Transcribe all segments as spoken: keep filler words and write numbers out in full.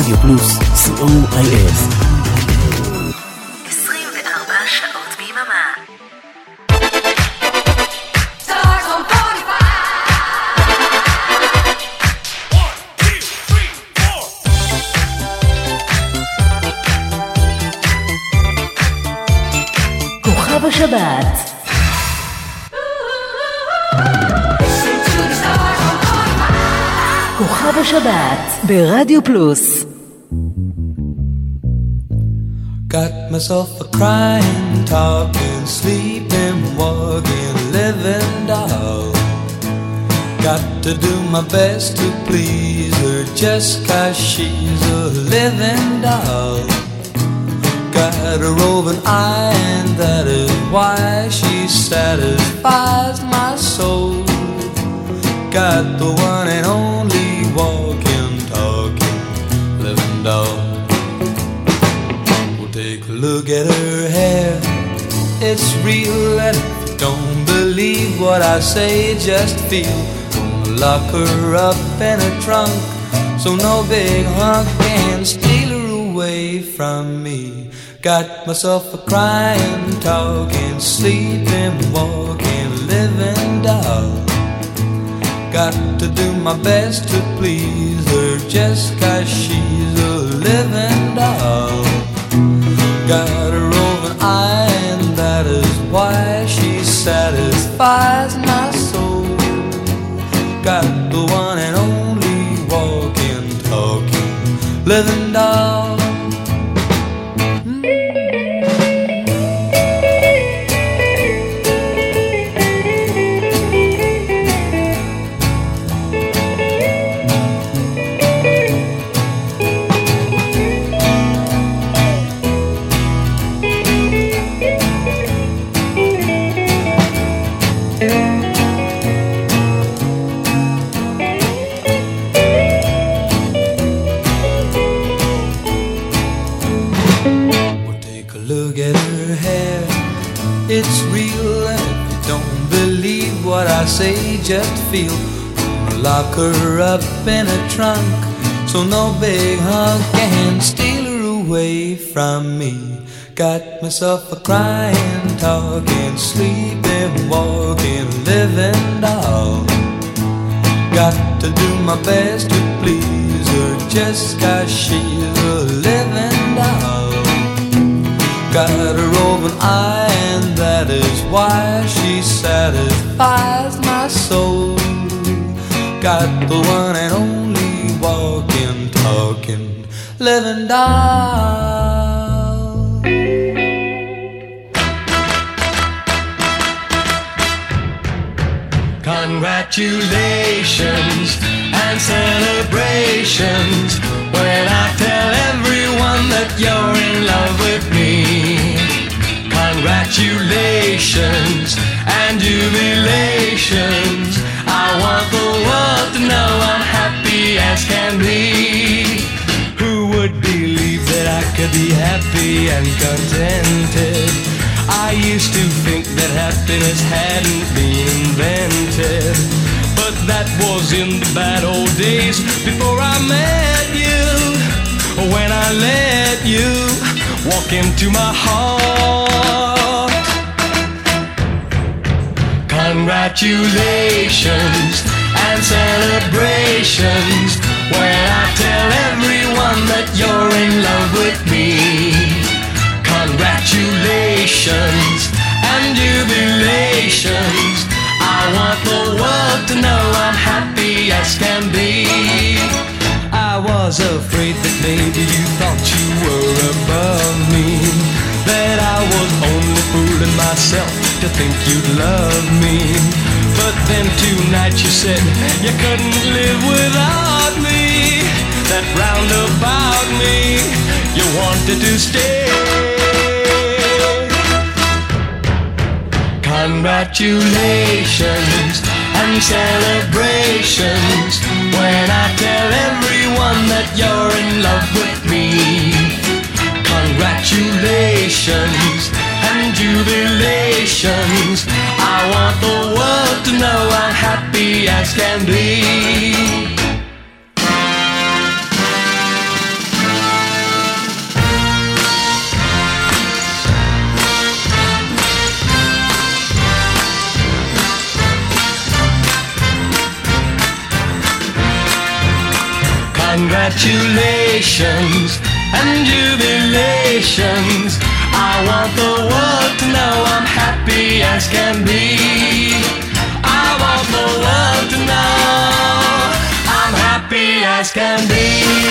רדיו פלוס, סי או איי אס. עשרים וארבע שעות ביממה. כוכב השבת. כוכב השבת ברדיו פלוס. Got myself a crying, talking, sleeping, walking, living doll. Got to do my best to please her just 'cause she's a living doll. Got a roving eye and that is why she satisfies my soul. Got the one and only walking, talking, living doll. Well, take a look at her hair, it's real, and if you don't believe what I say, just feel. Gonna lock her up in a trunk, so no big hunk can steal her away from me. Got myself a crying, talking, sleeping, walking, living doll. Got to do my best to please her just 'cause she's a living doll. Got a roving eye and that is why she satisfies my soul. Got the one and only walking, talking, living doll. It's real, and if you don't believe what I say, just feel. Gonna lock her up in a trunk, so no big hunk can steal her away from me. Got myself a crying, talking, sleeping, walking, living doll. Got to do my best to please her just 'cause she's a living doll. Got a roving eye and that is why she satisfies my soul. Got the one and only walking, talking, living doll. Congratulations and celebrations when I tell everyone that you're in love with me. Congratulations and jubilations, I want the world to know I'm happy as can be. Who would believe that I could be happy and contented? I used to think that happiness hadn't been invented, but that was in the bad old days before I met you. When I let you walk into my heart. Congratulations and celebrations when I tell everyone that you're in love with me. Congratulations and jubilations, I want the world to know I'm happy as can be. I was afraid that maybe you thought you were above me, that I was only fooling myself to think you'd love me. But then tonight you said you couldn't live without me, that round about me you wanted to stay. Congratulations and celebrations when I tell everyone that you're in love with me. Congratulations and jubilations, I want the world to know I'm happy as can be. Congratulations and jubilations. I want the world to know I'm happy as can be. I want the world to know I'm happy as can be.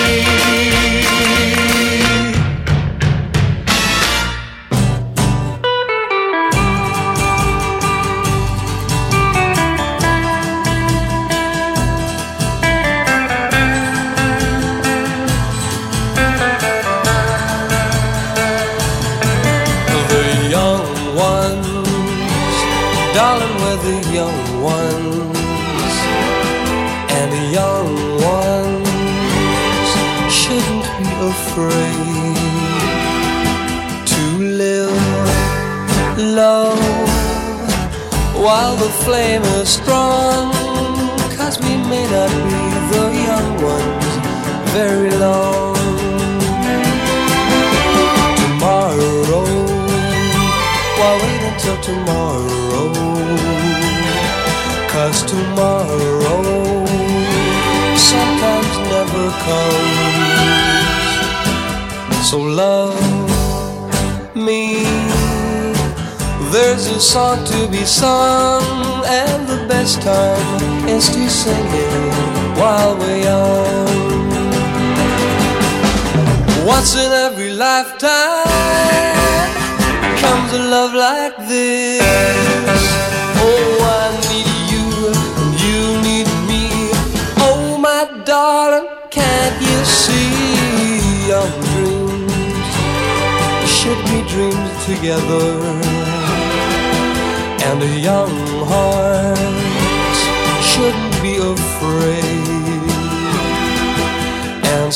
Darling, we're the young ones, and the young ones shouldn't be afraid to live low while the flame is strong, 'cause we may not be the young ones very long. Tomorrow, why wait until tomorrow? 'Cause tomorrow sometimes never comes. So love me, there's a song to be sung, and the best time is to sing it while we're young. Once in every lifetime comes a love like this. Oh, I need you and you need me. Oh, my darling, can't you see? Young dreams should be dreamed together, and the young hearts shouldn't be afraid. And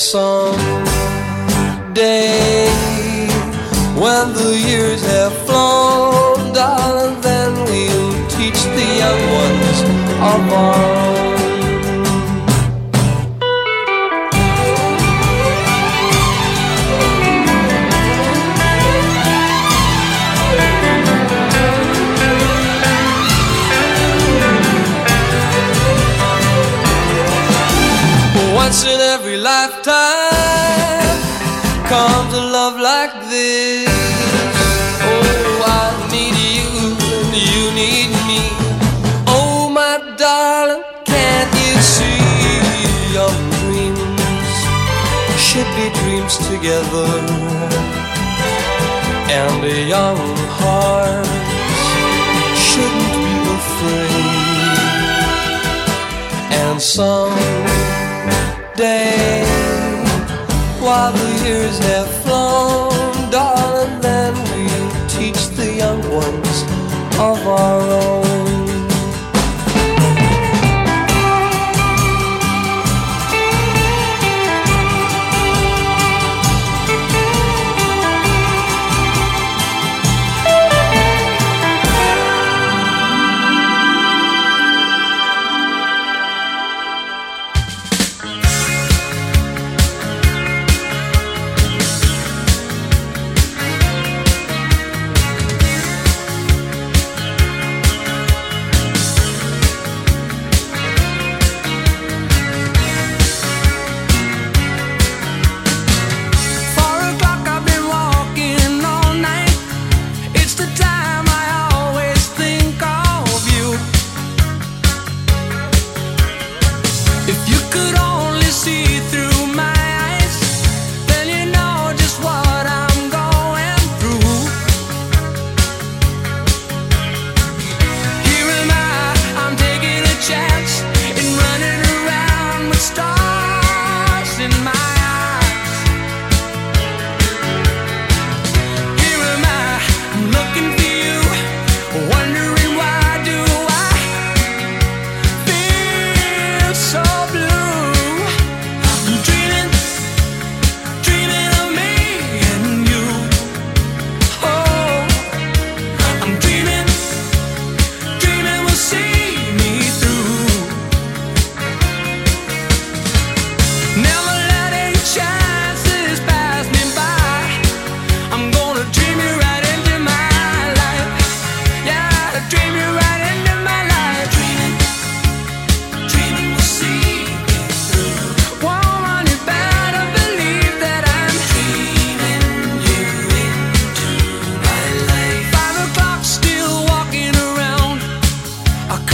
someday, when the years have flown, darling, then we'll teach the young ones of our own. Once in every lifetime comes a love like this. Oh, I need you and you need me. Oh, my darling, can't you see? Young dreams should be dreams together, and the young hearts shouldn't be afraid. And someday, while the years have flown, darling, then we'll teach the young ones of our own.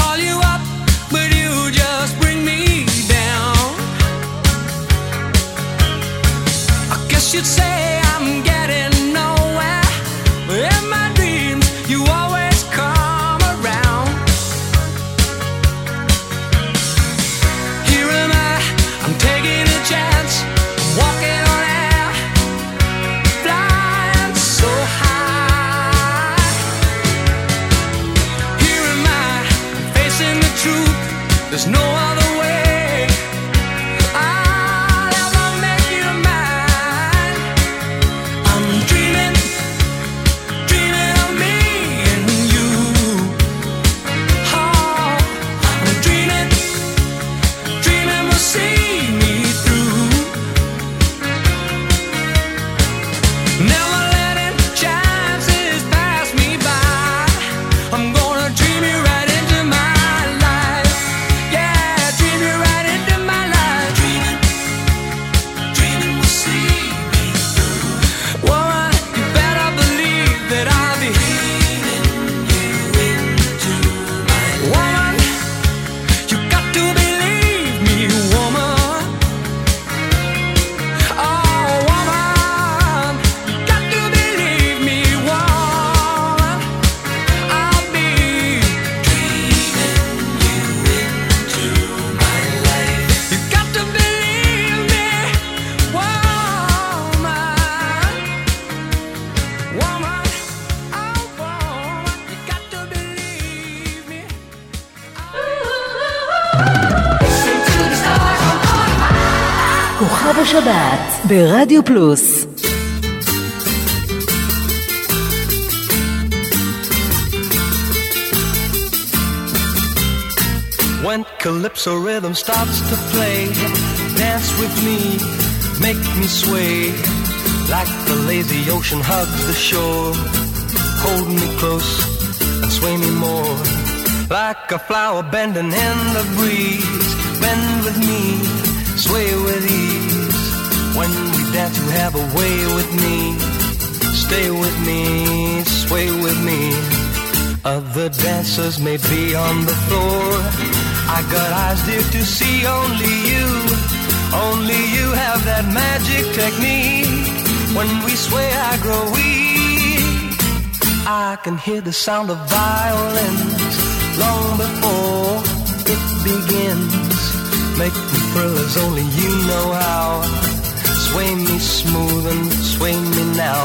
call you up, but you just bring me down. I guess you'd say I'm getting nowhere, but in my dreams you always come around. Here am I, I'm taking a chance, walking on air, flying so high. Here am I, facing the truth, there's no other way. I'll ever make you mine. I'm dreaming, dreaming of me and you. Oh, I'm dreaming, dreaming will see me through. Never letting chances pass me by. I'm gonna dream you right into my life. Yeah, dream you right into my life. Dreaming, dreaming will see me through. Woman, you better believe that I'll be dreaming you into my life. Woman, you got to believe me, woman. Oh, woman, you got to believe me, woman. I'll be dreaming you into my life. You got to believe me, woman. Woman, oh, woman, you got to believe me. כוכב השבת ברדיו פלוס. When calypso rhythm starts to play, dance with me, make me sway. Like the lazy ocean hugs the shore, hold me close and sway me more. Like a flower bending in the breeze, bend with me, sway with ease. When we dance you have a way with me, stay with me, sway with me. Other dancers may be on the floor, I got eyes dear to see only you. Only you have that magic technique. When we sway I grow weak. I can hear the sound of violins long before it begins. Make me thrill as only you know how. Sway me smooth and sway me now.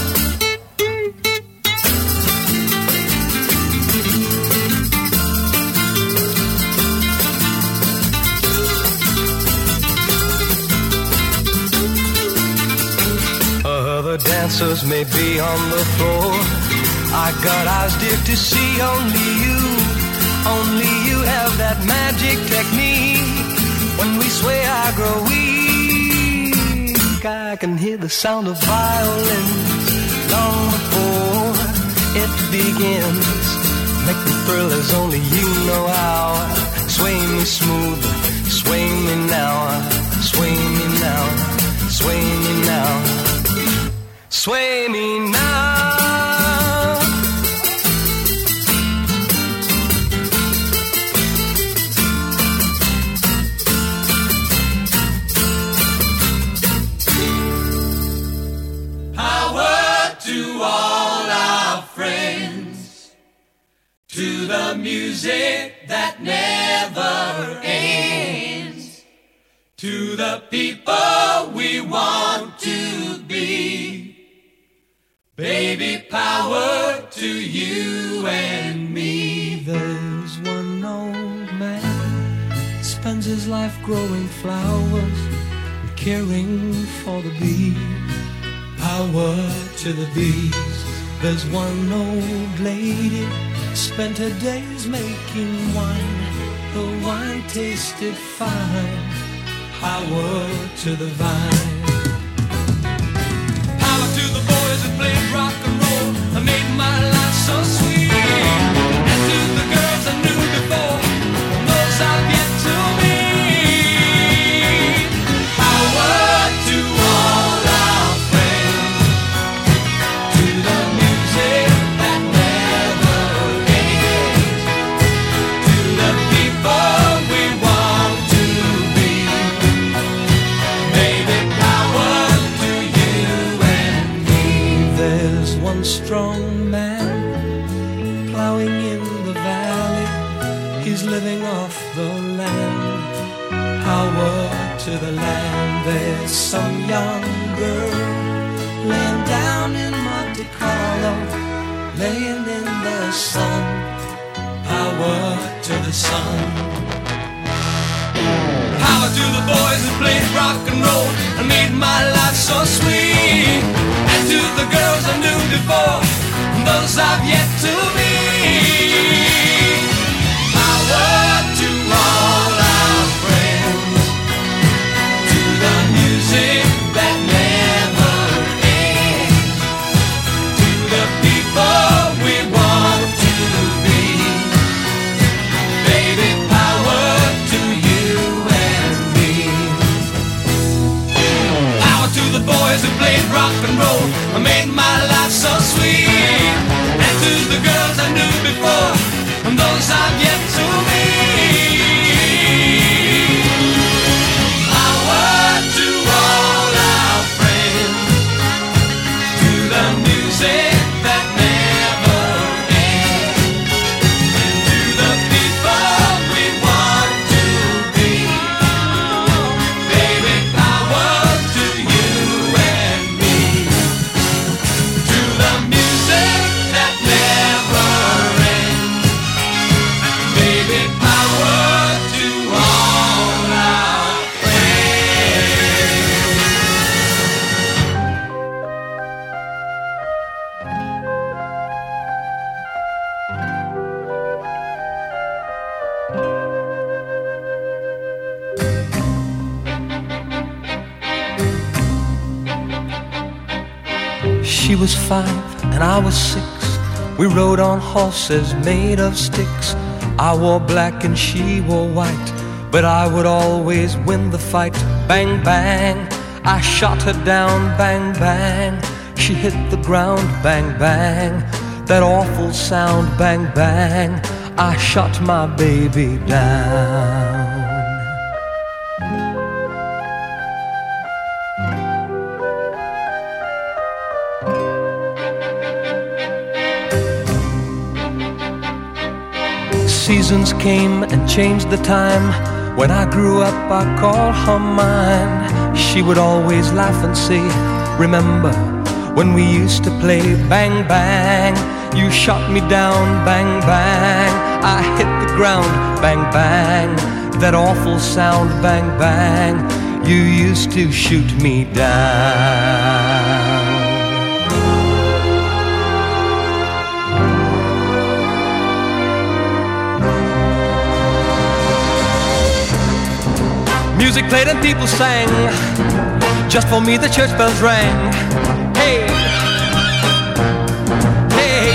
Other dancers may be on the floor, I got eyes dear to see only you. Only you have that magic technique. When we sway I grow weak. I can hear the sound of violins long before it begins. Make me thrill as only you know how. Sway me smooth, sway me now. Sway me now, sway me now. Sway me now. To the music that never ends, to the people we want to be. Baby, power to you and me. There's one old man, spends his life growing flowers and caring for the bees. Power to the bees. There's one old lady, spent her days making wine. The wine tasted fine. Power to the vine. Power to the boys that played rock and roll and made my life so sweet. And to the girls I knew before, and those I've yet to meet. Power to all our friends, to the music that never ends, to the falling off the land. Power to the land. There's some young girl laying down in Monte Carlo, laying in the sun. Power to the sun. Power to the boys who played rock and roll and made my life so sweet. And to the girls I knew before, and those I've yet to meet. Power to all our friends, to the music that never ends, to the people we want to be. Baby, power to you and me. Power to the boys who played rock and roll and made my life so sweet. And to the girls I knew before, and those I've yet to meet. Power to all our friends, to the music that never ends, and to the people we want to be. Baby, power to you and me, to the music that never ends. Baby, power to all our friends. She was five and I was six. We rode on horses made of sticks. I wore black and she wore white, but I would always win the fight. Bang, bang, I shot her down. Bang, bang, she hit the ground. Bang, bang, that awful sound. Bang, bang, I shot my baby down. Seasons came and changed the time. When I grew up I called her mine. She would always laugh and say, remember when we used to play? Bang, bang, you shot me down. Bang, bang, I hit the ground. Bang, bang, that awful sound. Bang, bang, you used to shoot me down. Music played and people sang. Just for me the church bells rang. Hey, hey.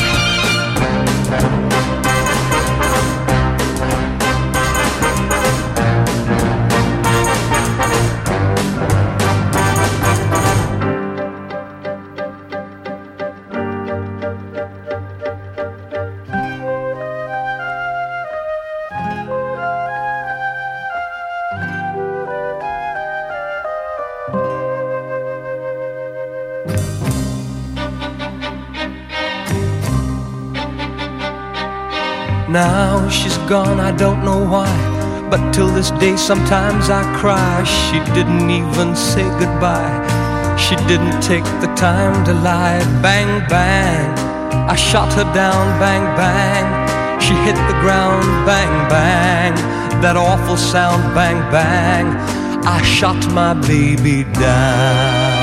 Now she's gone, I don't know why, but till this day sometimes I cry. She didn't even say goodbye. She didn't take the time to lie. Bang, bang, I shot her down. Bang, bang, she hit the ground. Bang, bang, that awful sound. Bang, bang, I shot my baby down.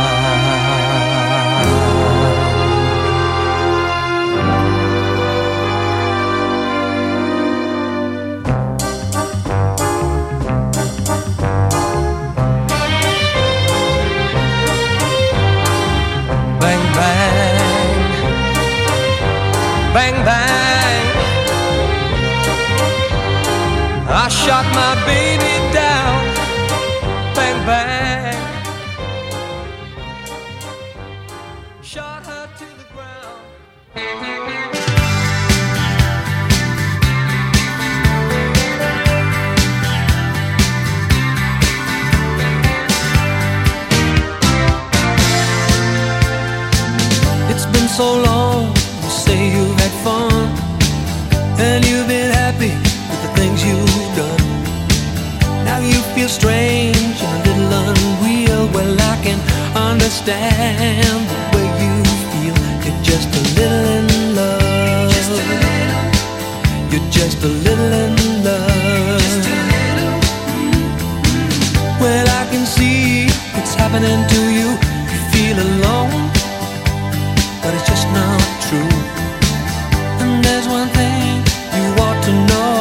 Bang, bang, I shot my baby down. Bang, bang, shot her to the ground. It's been so long, you say you've had fun, and you've been happy with the things you strange and a little unreal. Well, I can understand the way you feel. You're just a little in love. Just a little. You're just a little in love. Just a little. Well, I can see it's happening to you. You feel alone, but it's just not true. And there's one thing you ought to know.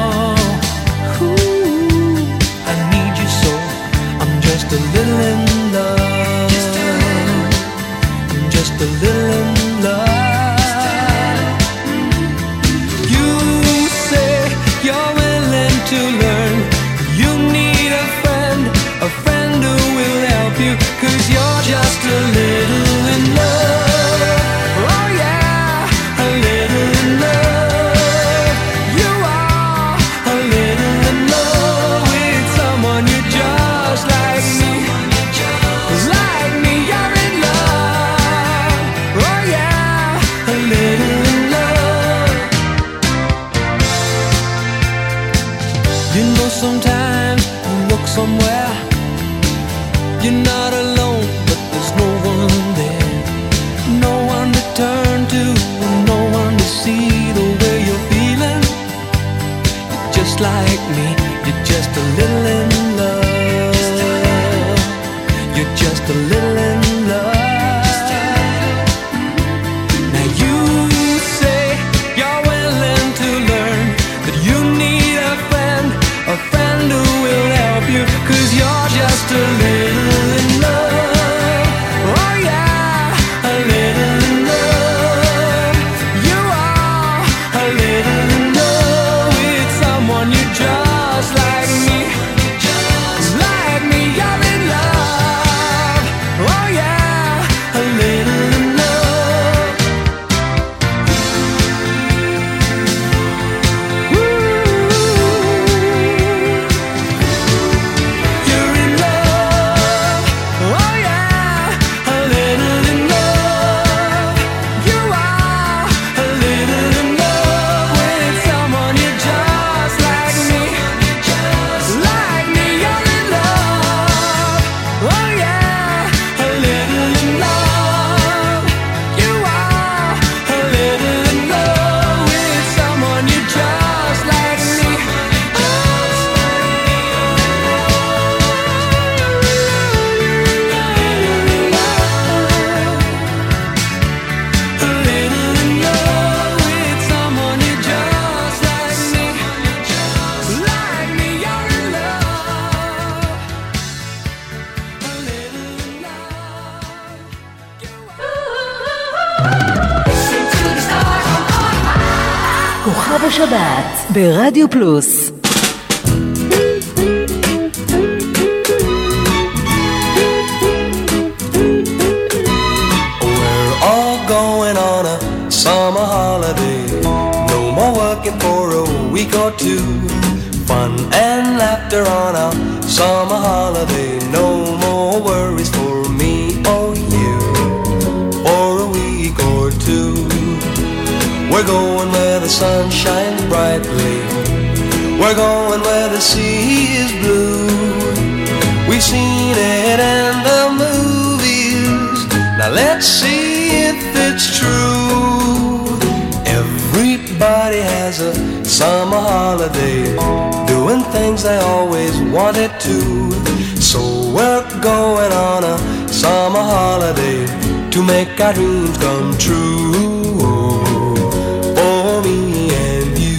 Ooh, I need you so. I'm just a little in love. Just a little. I'm just a little in love. You say you're willing to learn. You need a friend, a friend who will help you. 'Cause you're just a little in love. Oh yeah, a little in love. You are a little in love with someone you just like me. Like me, you're in love. Oh yeah, a little in love. You know sometimes you look somewhere, you're not alone, but there's no one there. No one to turn to, no one to see the way you're feeling. You're just like me, you're just a little in love. You're just a little in love. Now you say you're willing to learn, that you need a friend, a friend who will help you. 'Cause you're just a little in love. Oh yeah, a little in love. You are a little in love with someone you just like me. Like me, you're in love. Oh yeah, a little in love. You're in love. Oh yeah, a little in love. You are a little in love with someone you just like me. Like me, you're in love. Oh yeah, a little in love. You are a little in love with someone you just like me. A little in love with someone you just like me. Like me, you're in love. A little in love. כוכב השבת ברדיו פלוס. We're all going on a summer holiday. No more working for a week or two. Fun and laughter on a summer holiday. No more worries for me or you for a week or two. We're going where the sun shines brightly. We're going where the sea is blue. We've seen it in the movies. Now let's see if it's true. Everybody has a summer holiday, doing things they always wanted to. So we're going on a summer holiday to make our dreams come true. For me and you.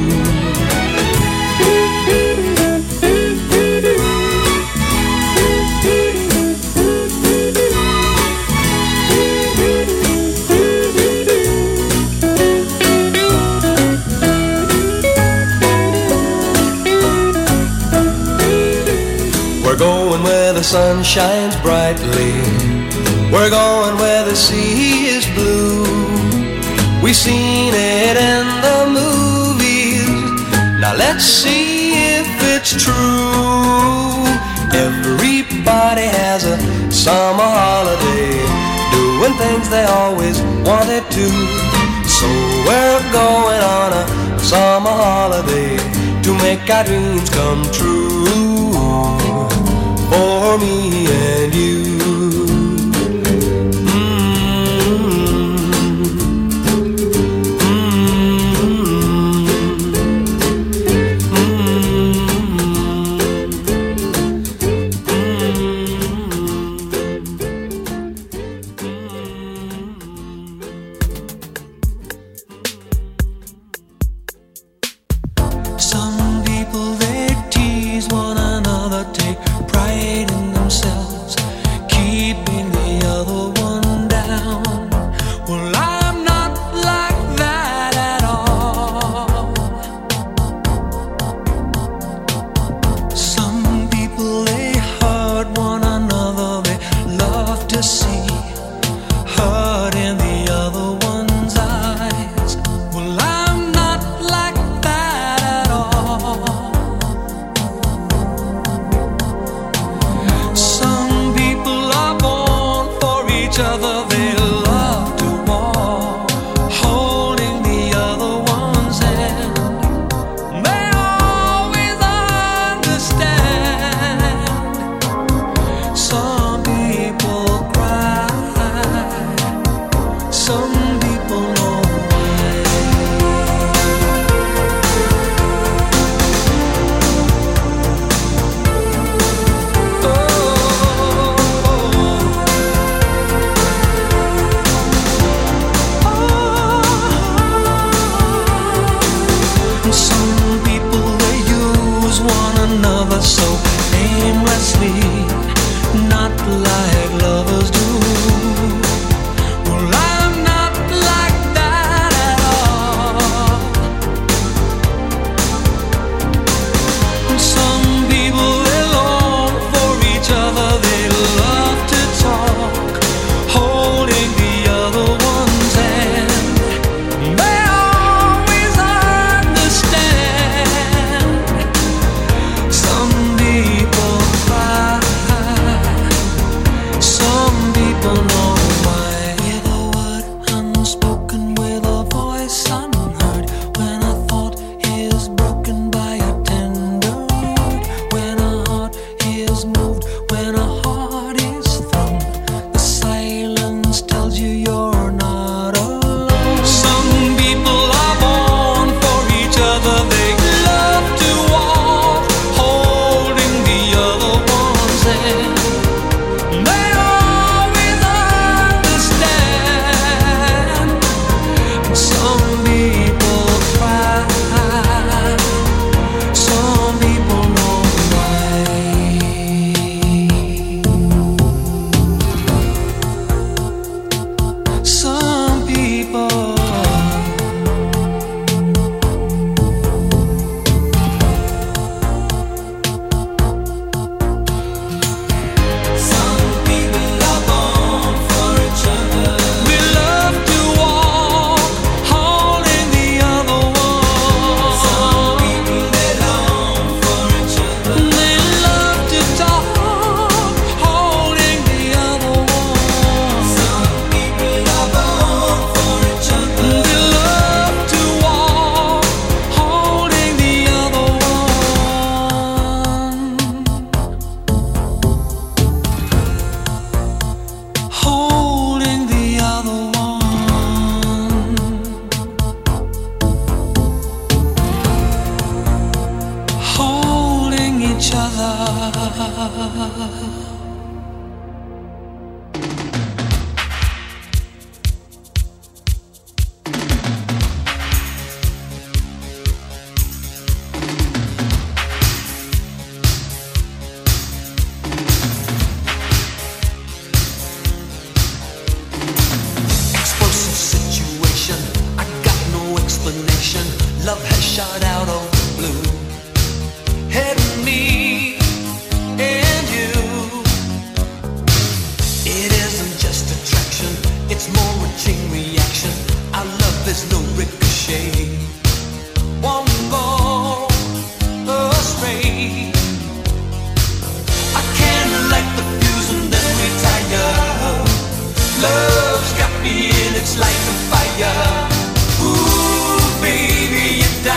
We're going where the sun shines brightly. We're going where the sea is blue. We've seen it in the movies. Now let's see if it's true. Everybody has a summer holiday, doing things they always wanted to. So we're going on a summer holiday to make our dreams come true. for me and you.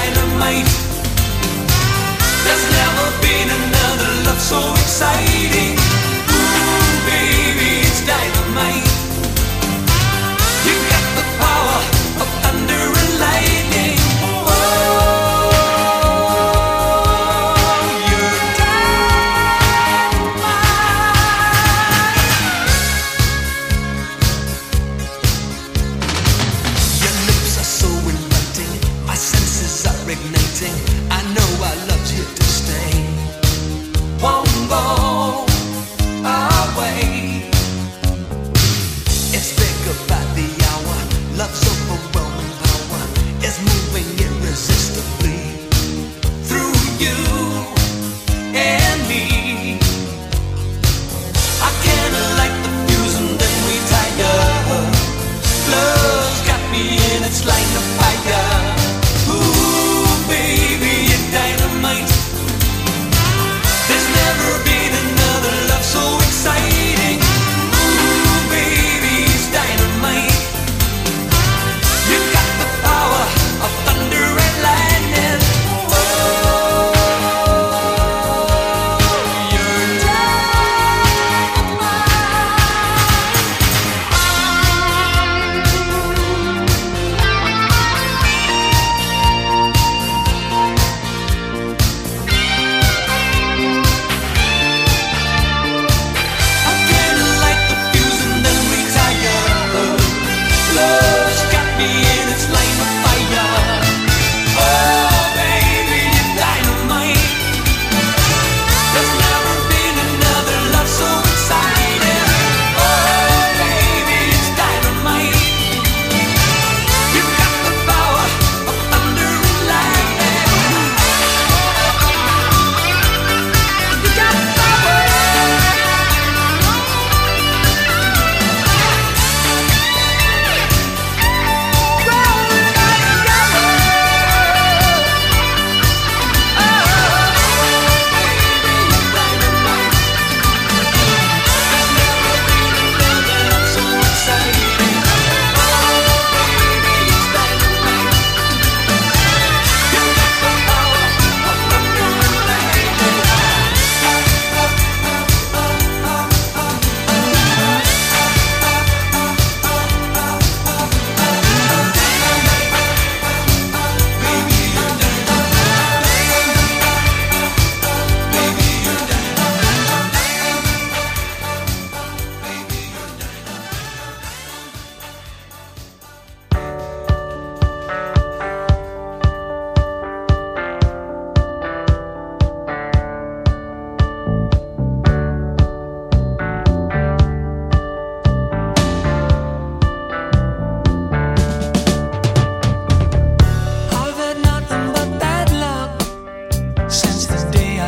so exciting.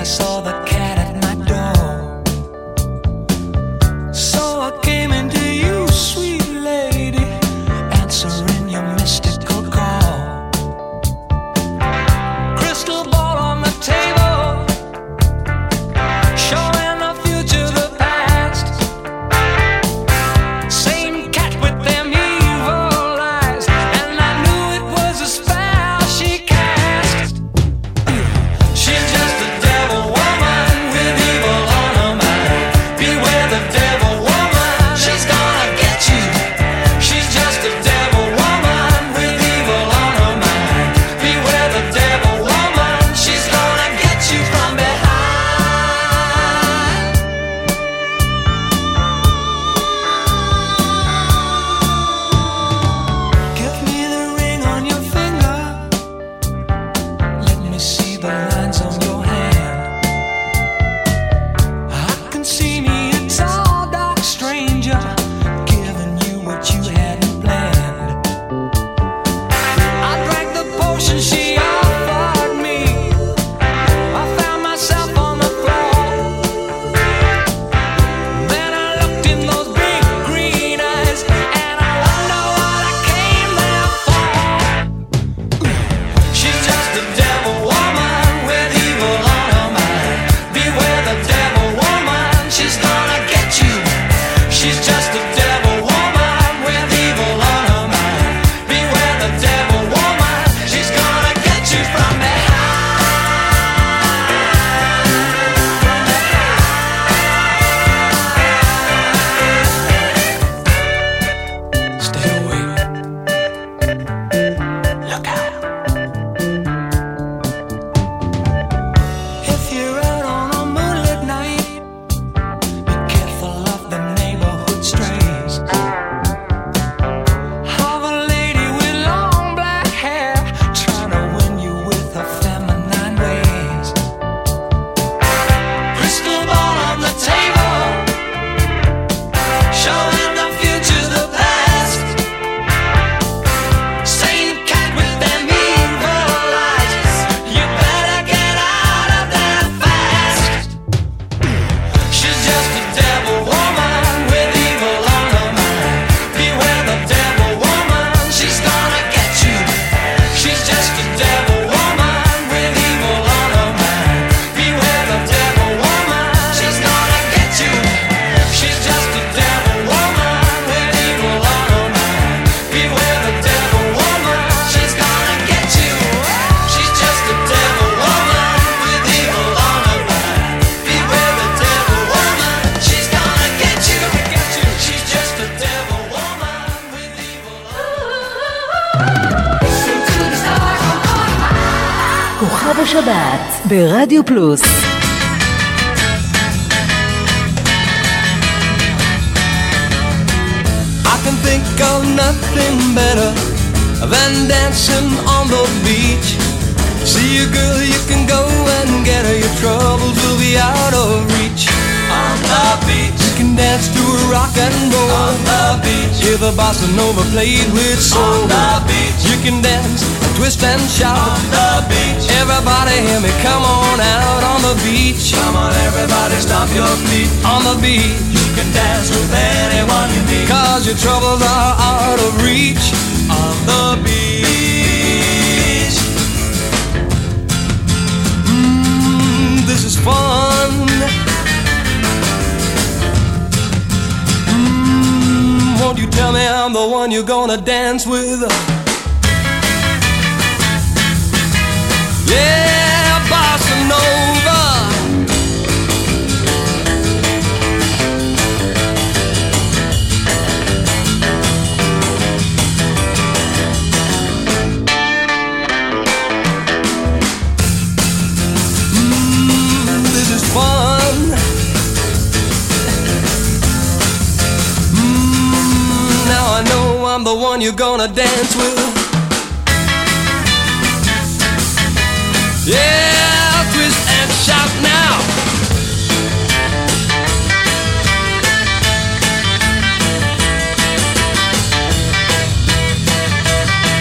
saw the cat at my door. So I came into you, sweet lady, answering your mystical call. Crystal ball on the table, showing the future, the past. Same cat with them evil eyes, and I knew it was a spell she cast. She's just a devil woman with evil on her mind. Beware the devil woman, she's gonna get you. She's just a devil woman with evil on her mind. Beware the devil woman, she's gonna get you from behind. Give me the ring on your finger. Let me see the lines on your hand. I can see me a tall, dark stranger, giving you what you hadn't planned. I drank the potion she offered me. I found myself on the floor. Then I looked in those big green eyes, and I wonder what I came there for. She's just a devil woman with evil on her mind. Beware the devil woman, she's gonna get you. She's just a devil woman with evil on her mind. Beware the devil woman, she's gonna get you from behind. Stay away. Look out. If you're out on a moonlit night, be careful of the neighborhood strays. Have a lady with long black hair trying to win you with her feminine ways. Crystal ball on the table, showing the future, the past. Same cat with them evil eyes. You better get out of there fast. She's just a devil woman with evil on her mind. Beware the devil woman, she's gonna get you. She's just a devil woman with evil on her mind. Beware the devil woman, she's gonna get you. She's just a devil woman with evil on her mind. Beware the devil woman, she's gonna get you. She's just a devil woman with evil on her mind. Beware the devil woman, she's gonna get you. She's just a devil woman with evil on כוכב השבת ברדיו פלוס. I can think of nothing better than dancing on the beach. See a girl, you can go and get her. Your troubles will be out of reach. On the beach, you can dance to a rock and roll. On the beach, hear the bossa nova played with soul. On the beach, you can dance, twist and shout. On the beach, everybody hear me, come on out on the beach. Come on, everybody, stomp your feet. On the beach, you can dance with anyone you meet. Cause your troubles are out of reach. On the beach. Mmm, this is fun. Mmm, won't you tell me I'm the one you're gonna dance with? Yeah, bossa nova. Mm, this is fun. Mm, now I know I'm the one you're gonna dance with. Yeah, twist and shout now.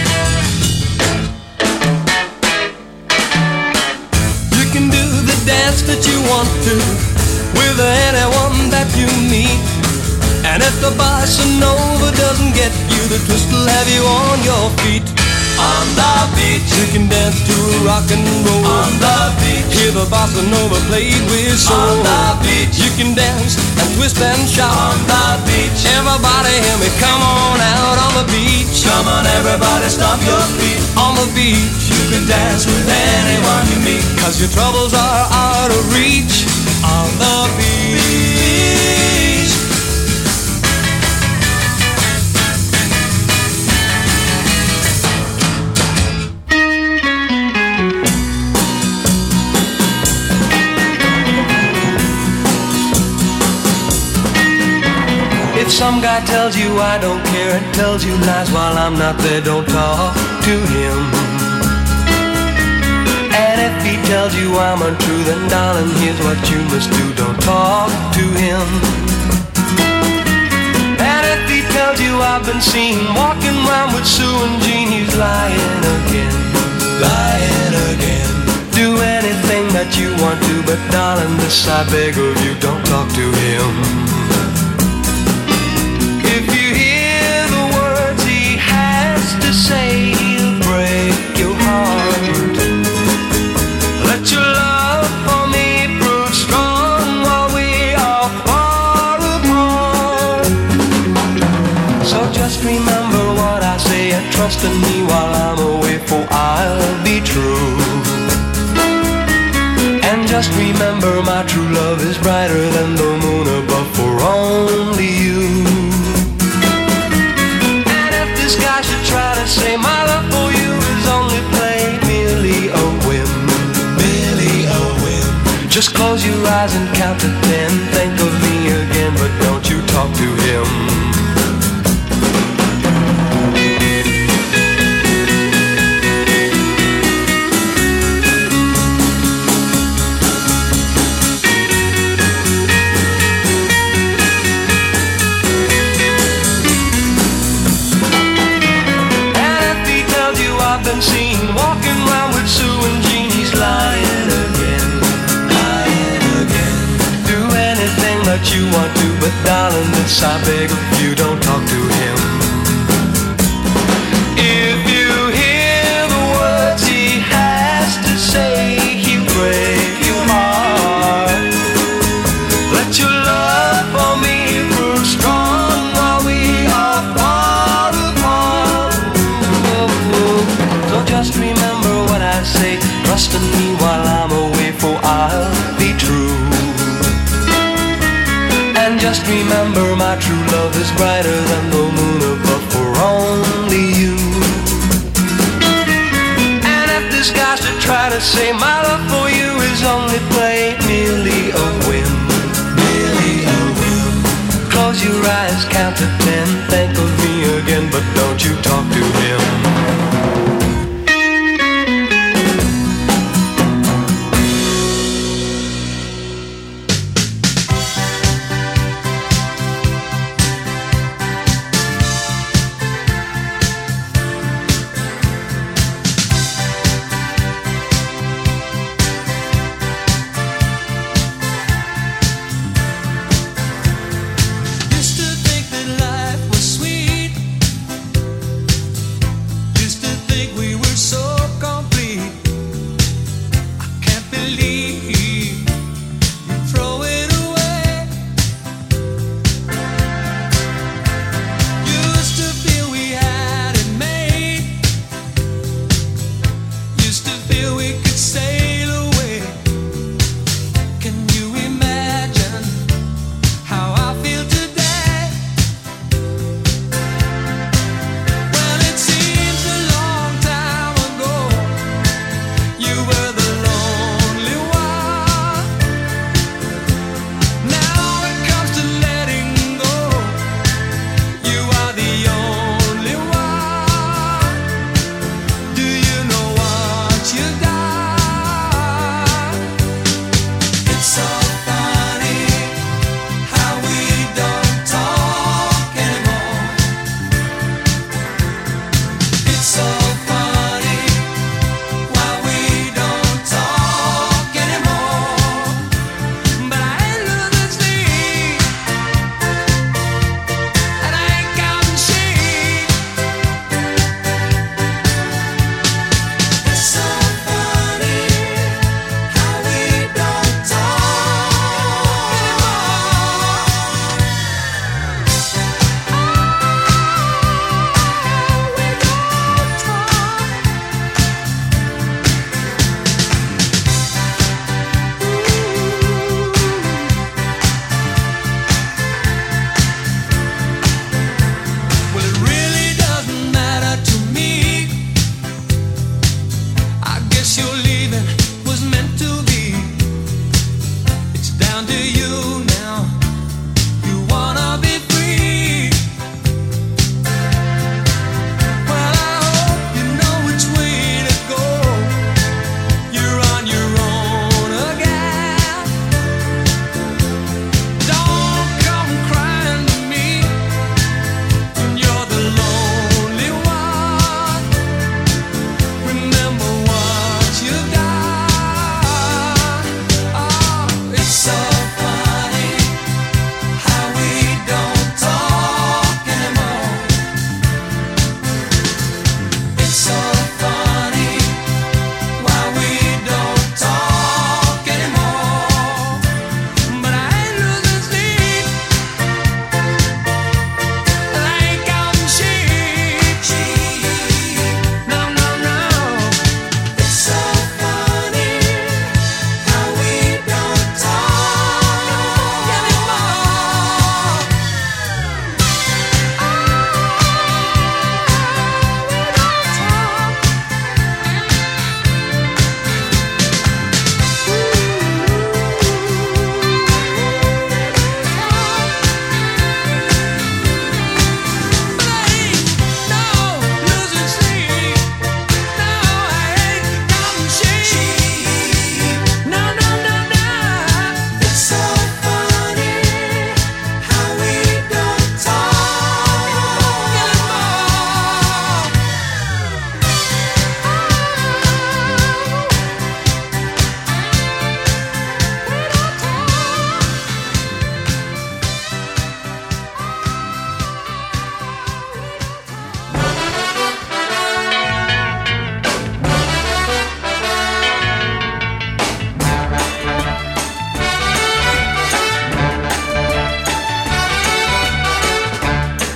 You can do the dance dance that you want to with anyone that you meet. And if the bossa nova doesn't get you, the twist will have you on your feet. On the beach, you can dance to rock and roll. On the beach, hear the bossa nova played with soul. On the beach, you can dance and twist and shout. On the beach, everybody hear me, come on out on the beach. Come on everybody, stomp your feet. On the beach, you can dance with anyone you meet, 'cause your troubles are out of reach. On the beach. If some guy tells you I don't care and tells you lies while I'm not there, don't talk to him. And if he tells you I'm untrue, then darling, here's what you must do, don't talk to him. And if he tells you I've been seen walking around with Sue and Jean, he's lying again, lying again. Do anything that you want to, but darling, this I beg of you, don't talk to him. If you hear the words he has to say, he'll break your heart. Let your love for me prove strong while we are far apart. So just remember what I say and trust in me while I'm away, for I'll be true. And just remember my true love is brighter than the moon above, for only you. This guy should try to say my love for you is only play, merely a whim, merely a whim. Just close your eyes and count to ten. Think of me again, but don't you talk to him. Seen walking around with Sue and Jean, he's lying again, lying again. Do anything that you want to, but darling, this I beg of you, don't talk to him. If you hear the words he has to say, he'll break your heart. Let your love for me prove strong while we are far apart. So just remember what I say, trust in me while I'm away, for I'll be true. And just remember my true love is brighter than the moon above, for only you. And if this guy should try to say my love for you is only play, merely a whim, merely a whim. Close your eyes, count to ten, think of me again, but don't you talk to him.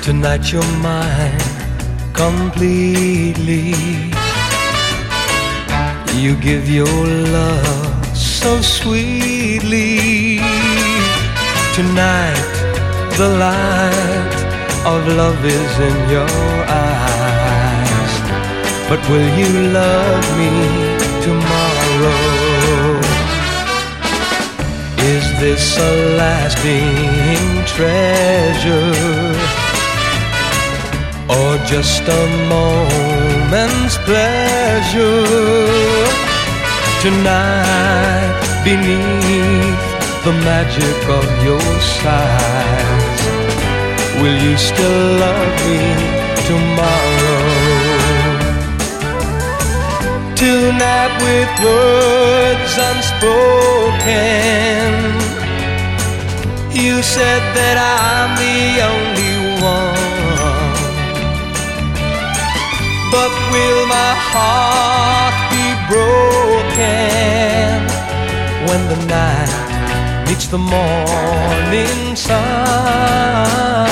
Tonight you're mine completely. You give your love so sweetly. Tonight the light of love is in your eyes. But will you love me tomorrow? Is this a lasting treasure, or just a moment's pleasure? Tonight, beneath the magic of your sighs, will you still love me tomorrow? Tonight with words unspoken, you said that I'm the only one. But will my heart be broken when the night meets the morning sun?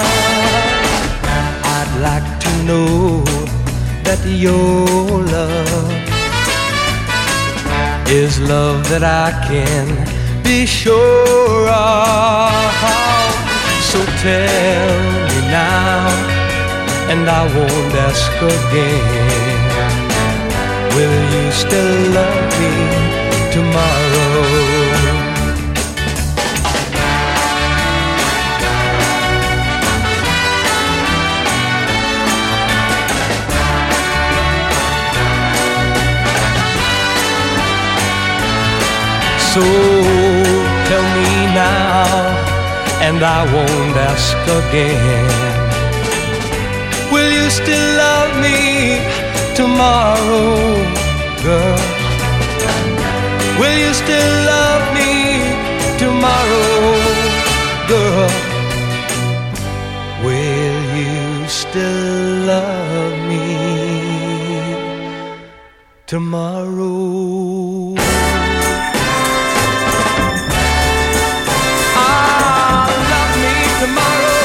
I'd like to know that your love is love that I can be sure of. So tell me now, and I won't ask again, will you still love me tomorrow? So tell me now, and I won't ask again, will you still love me tomorrow, girl? Will you still love me tomorrow, girl? Will you still love me tomorrow? Tomorrow,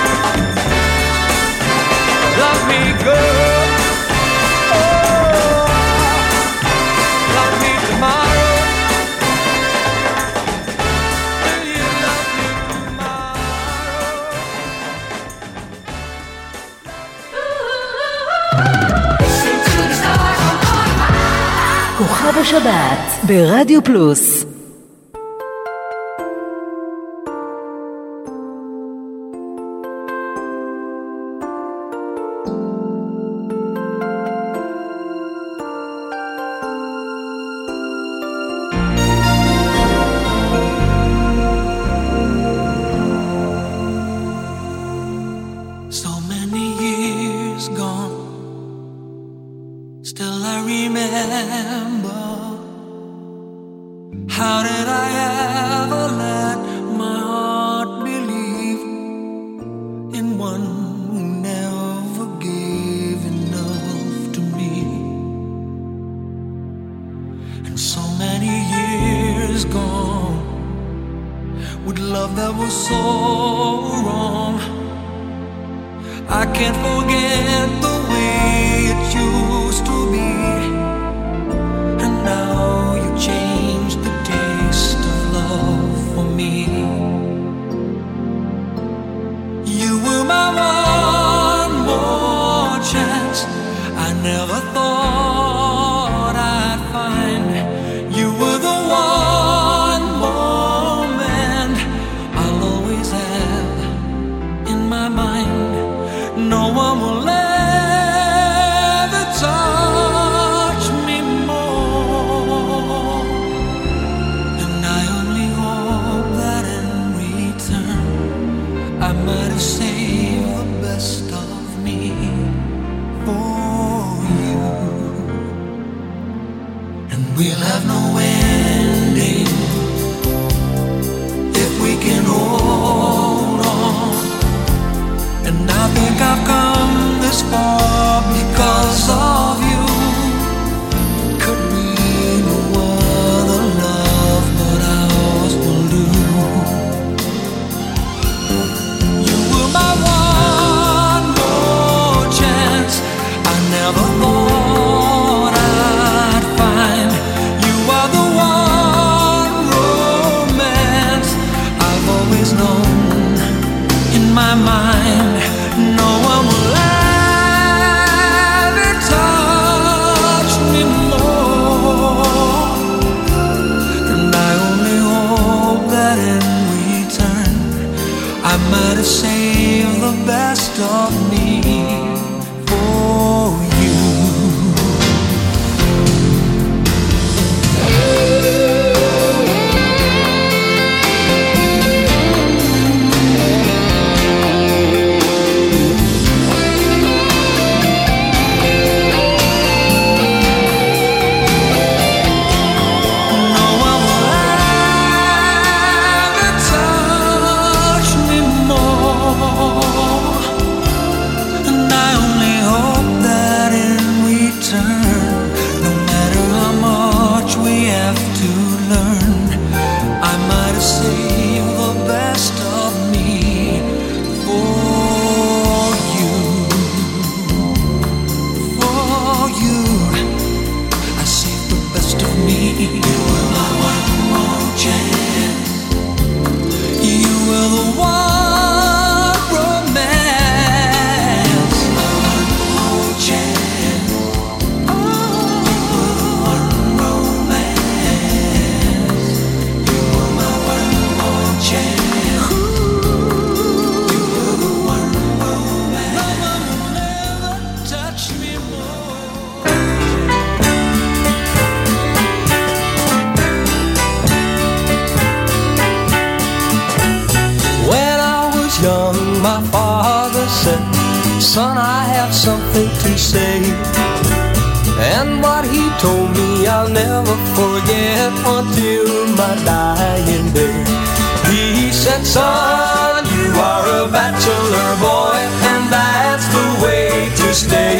love me, girl. Oh, love me tomorrow. Will you love me tomorrow? כוכב השבת ברדיו פלוס. No one will let my mind. No one will ever touch me more, and I only hope that in return I might have saved the best of me for you. Son, I have something to say, and what he told me I'll never forget until my dying day. He said, son, you are a bachelor boy, and that's the way to stay.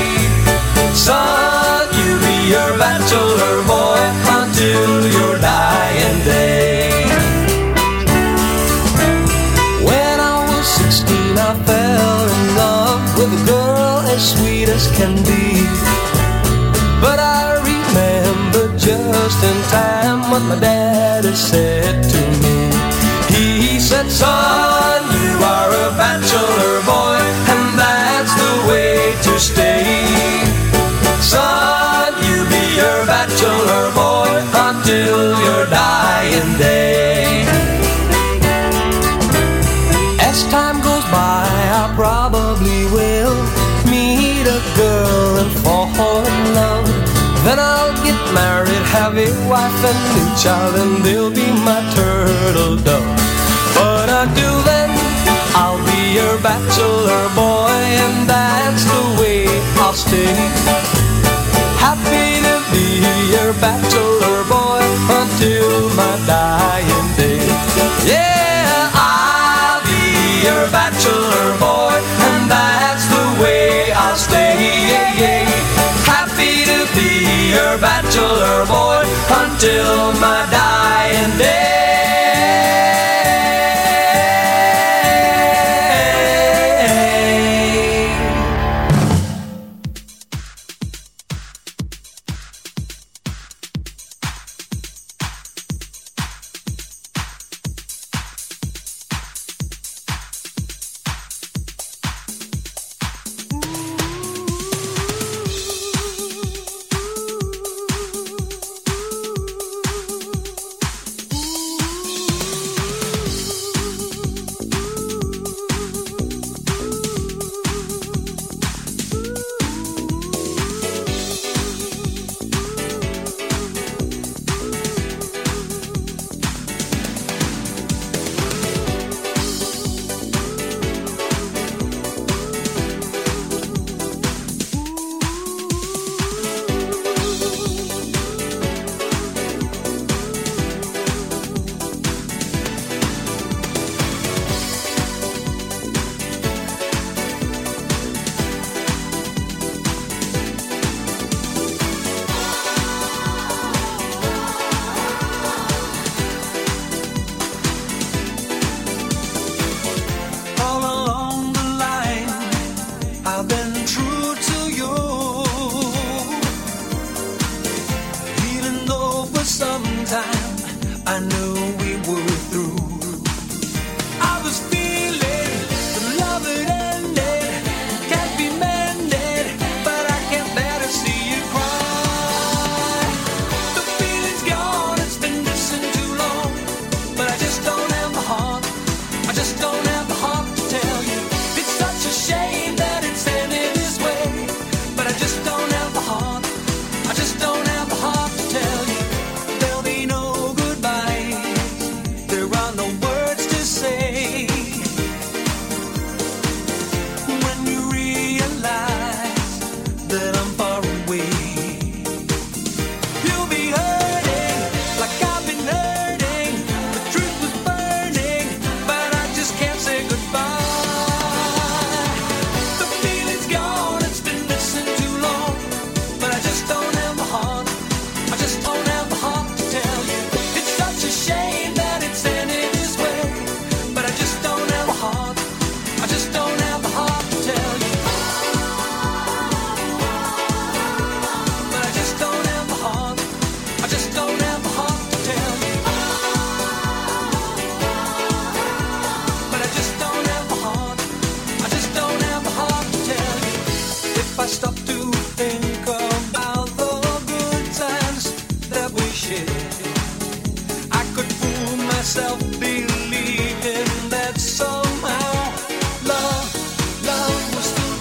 Son, you be your bachelor boy until your dying day. When I was sixteen, I fell in love with a girl as sweet as can be, but I remember just in time what my daddy said to me. He said, son, you are a bachelor boy, and that's the way to stay. Son, you be your bachelor boy until your dying day. As time goes by, I probably will meet a girl and fall in love. Then I'll get married, have a wife and a child, and they'll be my turtle dove. But until then, I'll be your bachelor boy, and that's the way I'll stay. Happy to be your bachelor boy until my dying day. Yeah, I'll be your bachelor boy, and that's the way I'll stay. Yeah, yeah. Happy to be your bachelor boy until my dying day. myself believing that somehow love, love was still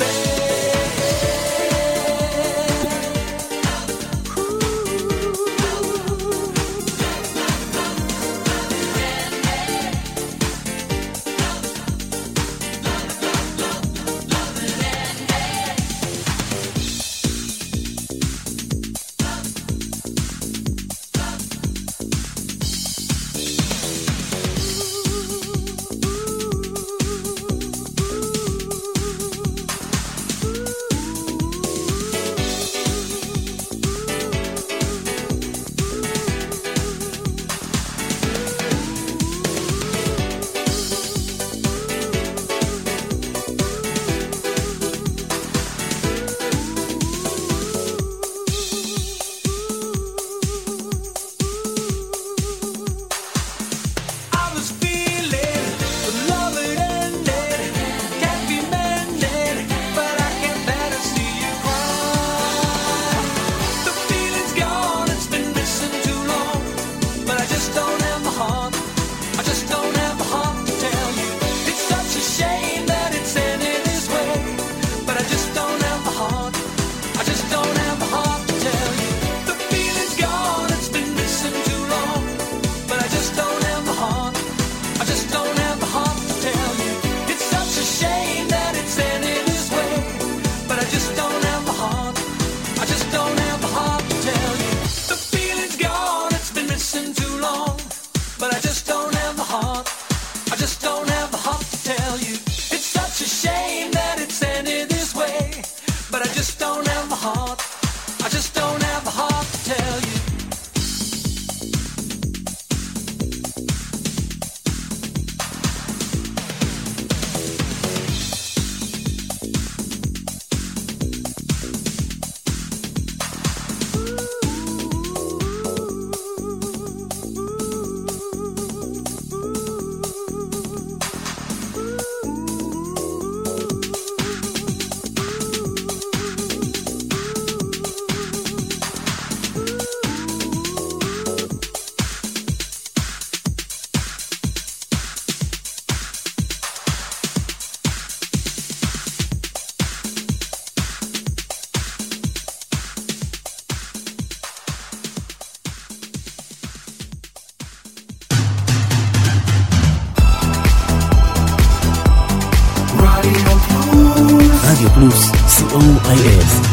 רדיו פלוס, סי או איי אס.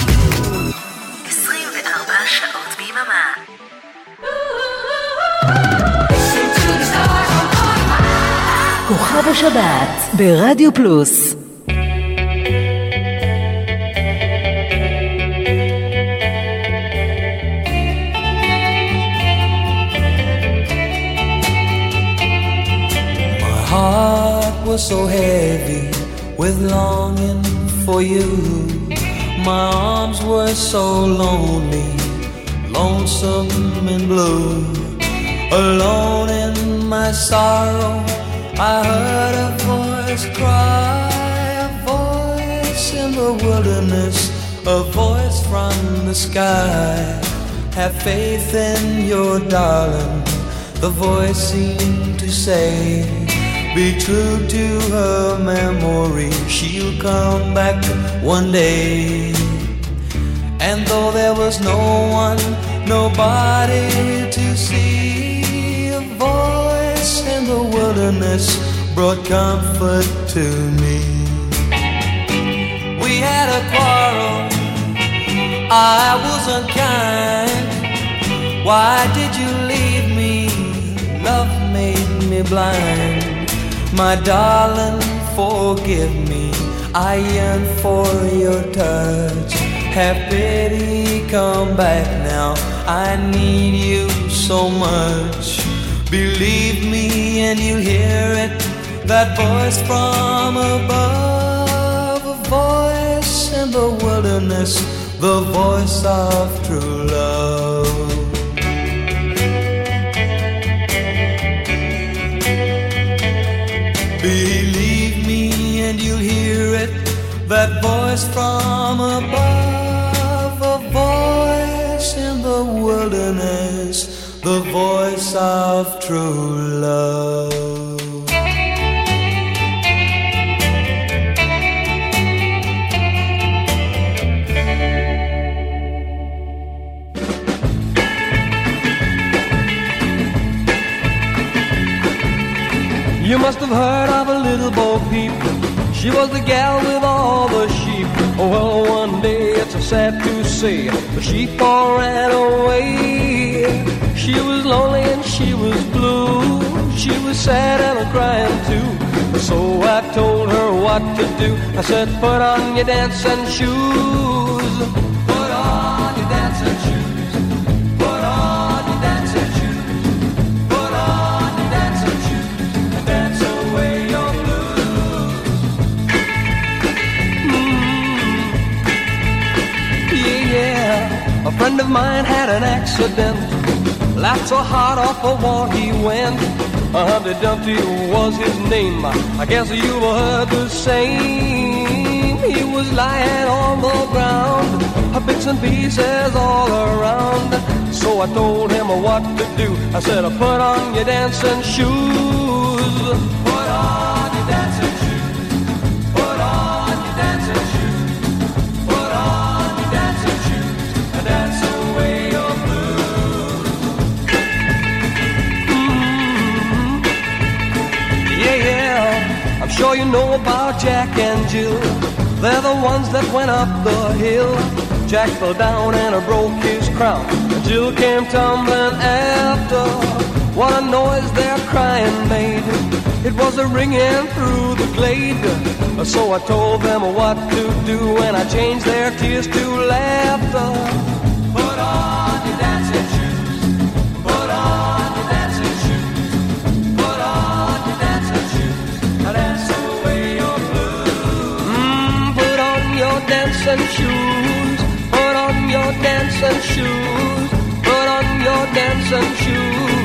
עשרים וארבע שעות ביממה. כוכב השבת ברדיו פלוס. My heart was so heavy with longing for you. My arms were so lonely, lonesome and blue. Alone in my sorrow, I heard a voice cry, a voice in the wilderness, a voice from the sky. Have faith in your darling, the voice seemed to say. Be true to her memory, she'll come back one day. And though there was no one, nobody to see, a voice in the wilderness brought comfort to me. We had a quarrel, I was unkind. Why did you leave me? Love made me blind. My darling, forgive me, I yearn for your touch. Have pity, come back now, I need you so much. Believe me and you'll hear it, that voice from above. A voice in the wilderness, the voice of true love. Believe me and you'll hear it, that voice from above. A voice in the wilderness, the voice of true love. You must have heard of a little Bo Peep. She was the gal with all the sheep. Oh, well, one day, it's sad to say, the sheep all ran away. She was lonely and she was blue. She was sad and crying too. So I told her what to do. I said, put on your dancing shoes. Put on your dancing shoes. Put on your dancing shoes. Put on your dancing shoes. And dance away your blues. Mm. Yeah, yeah. A friend of mine had an accident. Laughed so hard off the wall he went. Uh, Humpty Dumpty was his name. I guess you've heard the same. He was lying on the ground, bits and pieces all around. So I told him what to do. I said, put on your dancing shoes. Put on your dancing shoes. Put on your dancing shoes. Put on your dancing shoes. And dance away your blues. Mm-hmm. Yeah, yeah. I'm sure you know about Jack and Jill. They're the ones that went up the hill. Jack fell down and broke his crown. Jill came tumbling after. What a noise their crying made. It was a ringing through the glade. So I told them what to do, and I changed their tears to laughter. Put on your dancing shoes. Put on your dancing shoes. Put on your dancing shoes. Dance away your blues. Mm, put on your dancing shoes. Put on your dancing shoes. Put on your dancing shoes.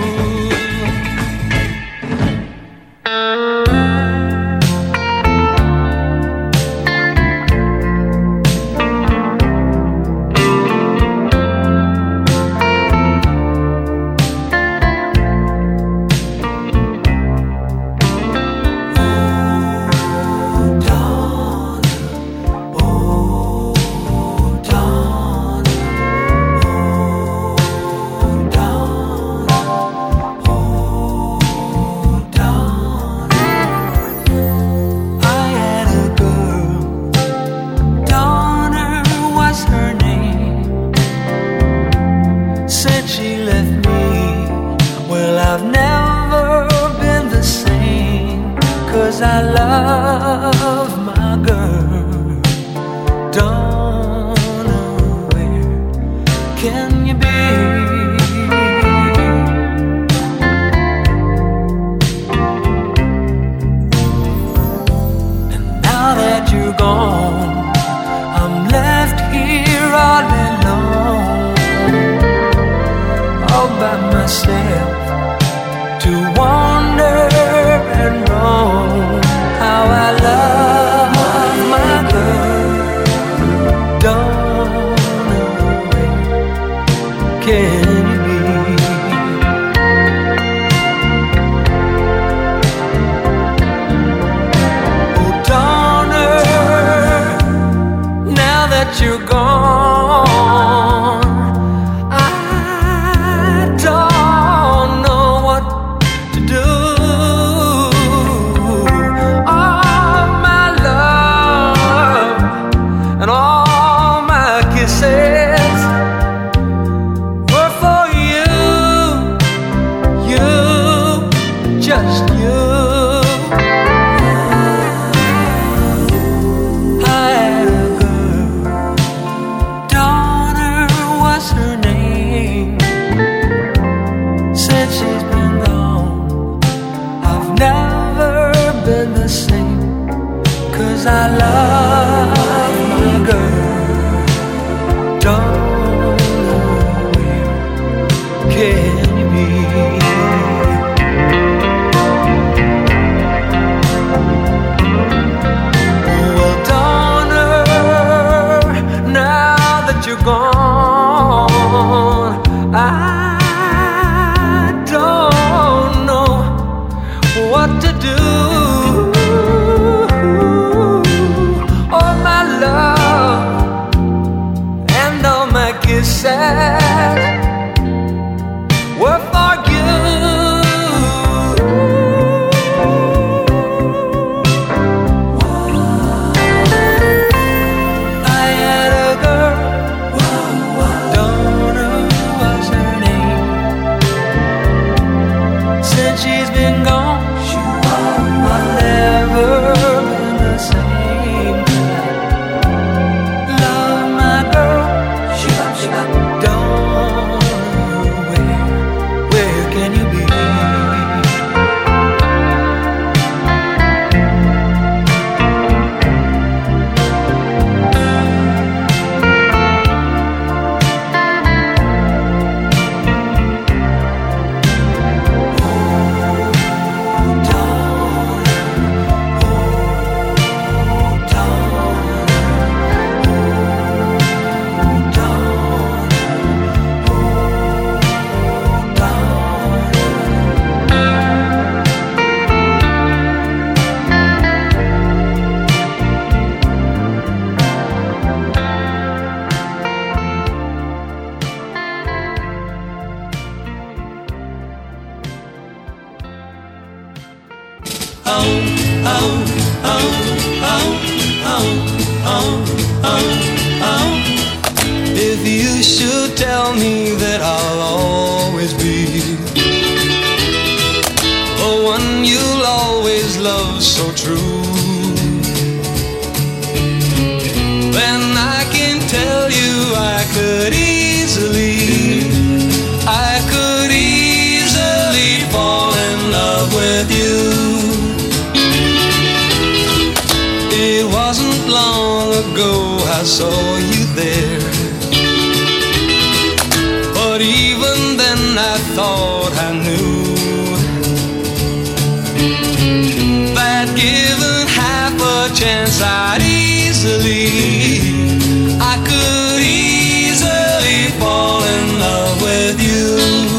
Gone, I don't If you should tell me that I'll always be the one you'll always love so true, then I can tell you I could easily, I could easily fall in love with you. It wasn't long ago I saw you there, but even then I thought I knew that given half a chance I'd easily, I could easily fall in love with you.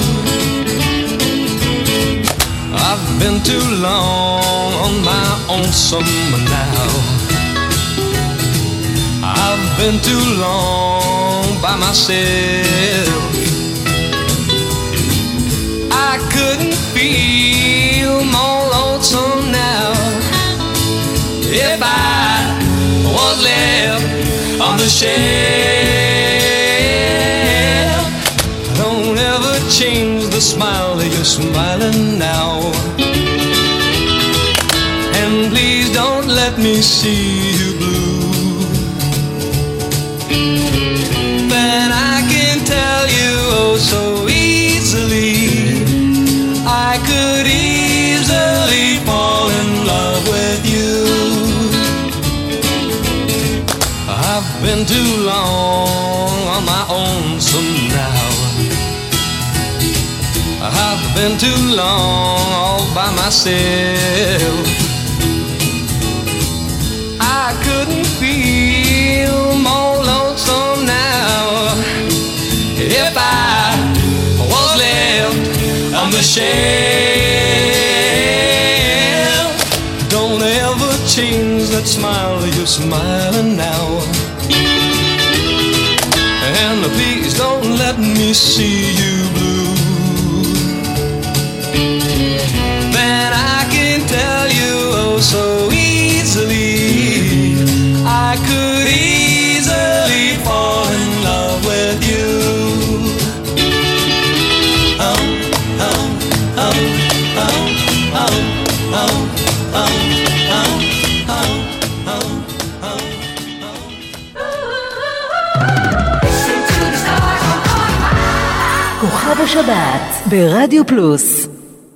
I've been too long on my own summer now, I've been too long by myself. I couldn't feel more lonesome now if I was left on the shelf. Don't ever change the smile that you're smiling now, and please don't let me see you blue. Then I can tell you oh so easily, I could easily fall in love with you. I've been too long on my own some now, I've been too long all by myself. I couldn't feel more lonesome now if I was left on the shelf. Don't ever change that smile that you're smiling now, and please don't let me see you blue. Then I can tell you oh so easily, I could easily fall in love with you. Oh, oh, oh, oh, oh, oh, oh, oh, oh, oh, oh. כוכב השבת ברדיו פלוס.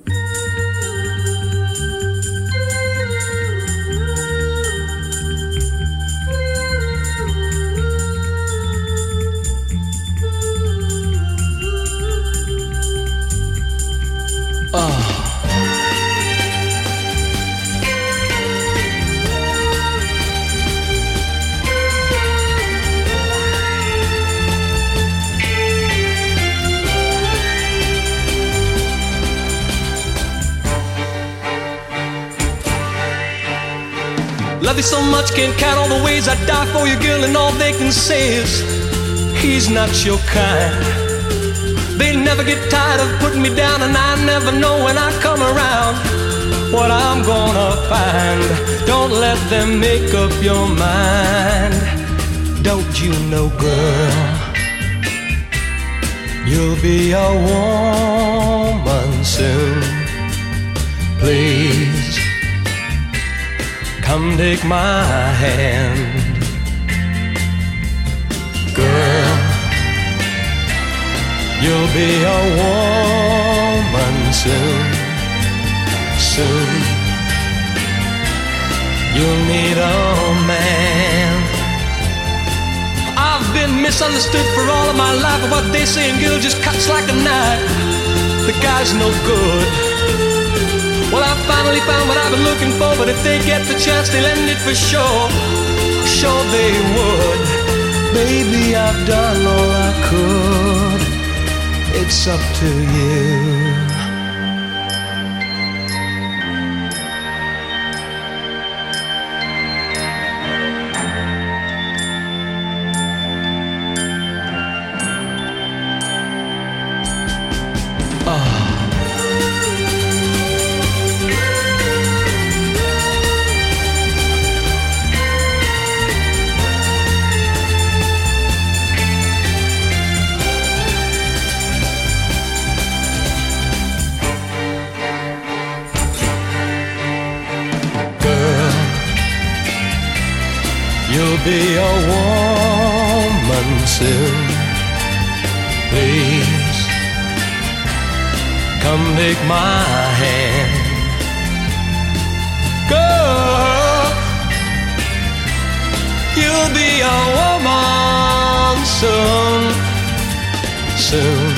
Love you so much, can't count all the ways I die for you, girl, and all they can say is he's not your kind. They never get tired of putting me down, and I never know when I come around what I'm gonna find. Don't let them make up your mind. Don't you know, girl, you'll be a woman soon. Please come take my hand, girl. You'll be a woman soon, soon. You'll need a man. I've been misunderstood for all of my life, but what they say in girl just cuts like a knife. The guy's no good. Well, I finally found what I've been looking for, but if they get the chance, they'll end it for sure. Sure they would. Baby, I've done all I could. It's up to you. You'll be a woman soon. Please come take my hand. Girl, you'll be a woman soon. Soon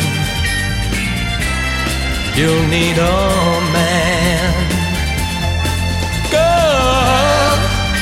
you'll need a man. Girl,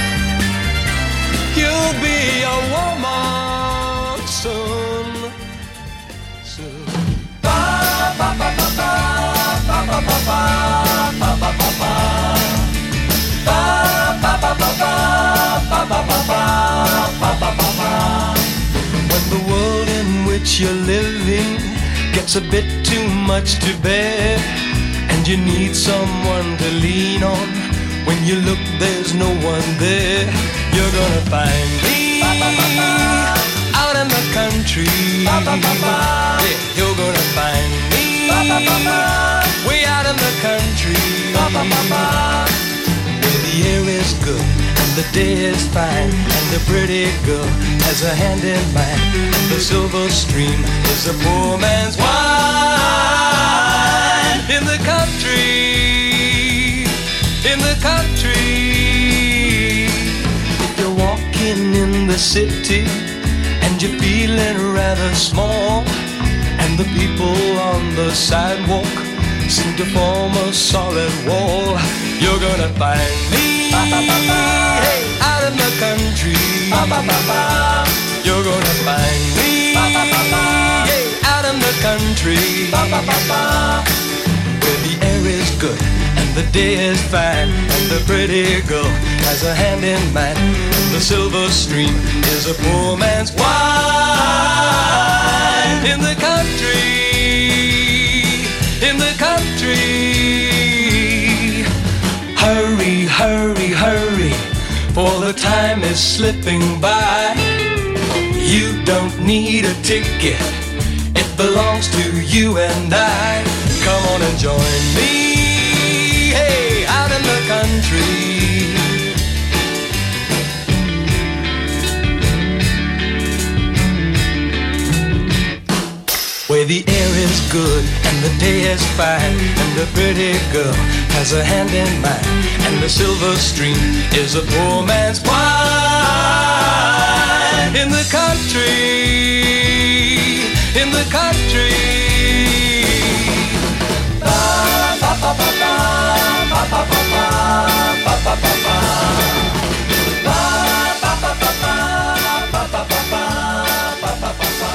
you'll be a woman soon. Soon. Ba ba ba ba ba ba ba ba ba ba ba ba ba. Ba ba ba ba ba ba ba ba ba ba ba ba. When the world in which you're living gets a bit too much to bear, and you need someone to lean on, when you look there's no one there, you're gonna find me out in the country. Yeah, you're gonna find me way out in the country, where the air is good and the day is fine, and the pretty girl has a hand in mine, and the silver stream is a poor man's wine. In the country, in the country, if you're walking in the city and you're feeling rather small, and the people on the sidewalk seem to form a solid wall, you're gonna find me hey, out in the country. You're gonna find me hey, out in the country, where the air is good and the day is fine, and the pretty girl has a hand in mine, and the silver stream is a poor man's wine. In the country, in the country, hurry, hurry, hurry, for the time is slipping by. You don't need a ticket, it belongs to you and I. Come on and join me, hey, out in the country. Where the air is good and the day is fine, and the pretty girl has a hand in mine, and the silver stream is a poor man's wine. In the country, in the country. Ba ba ba ba ba ba ba ba ba ba ba ba. Ba ba ba ba ba ba ba ba ba ba ba ba ba.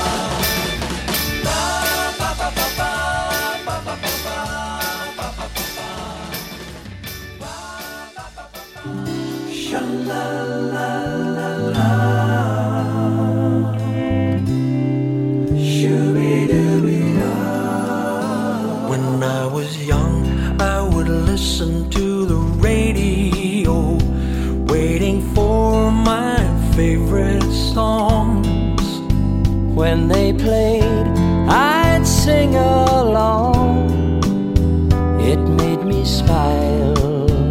When I was young, I would listen to the radio, waiting for my favorite songs. When they played, I'd sing along. It made me smile.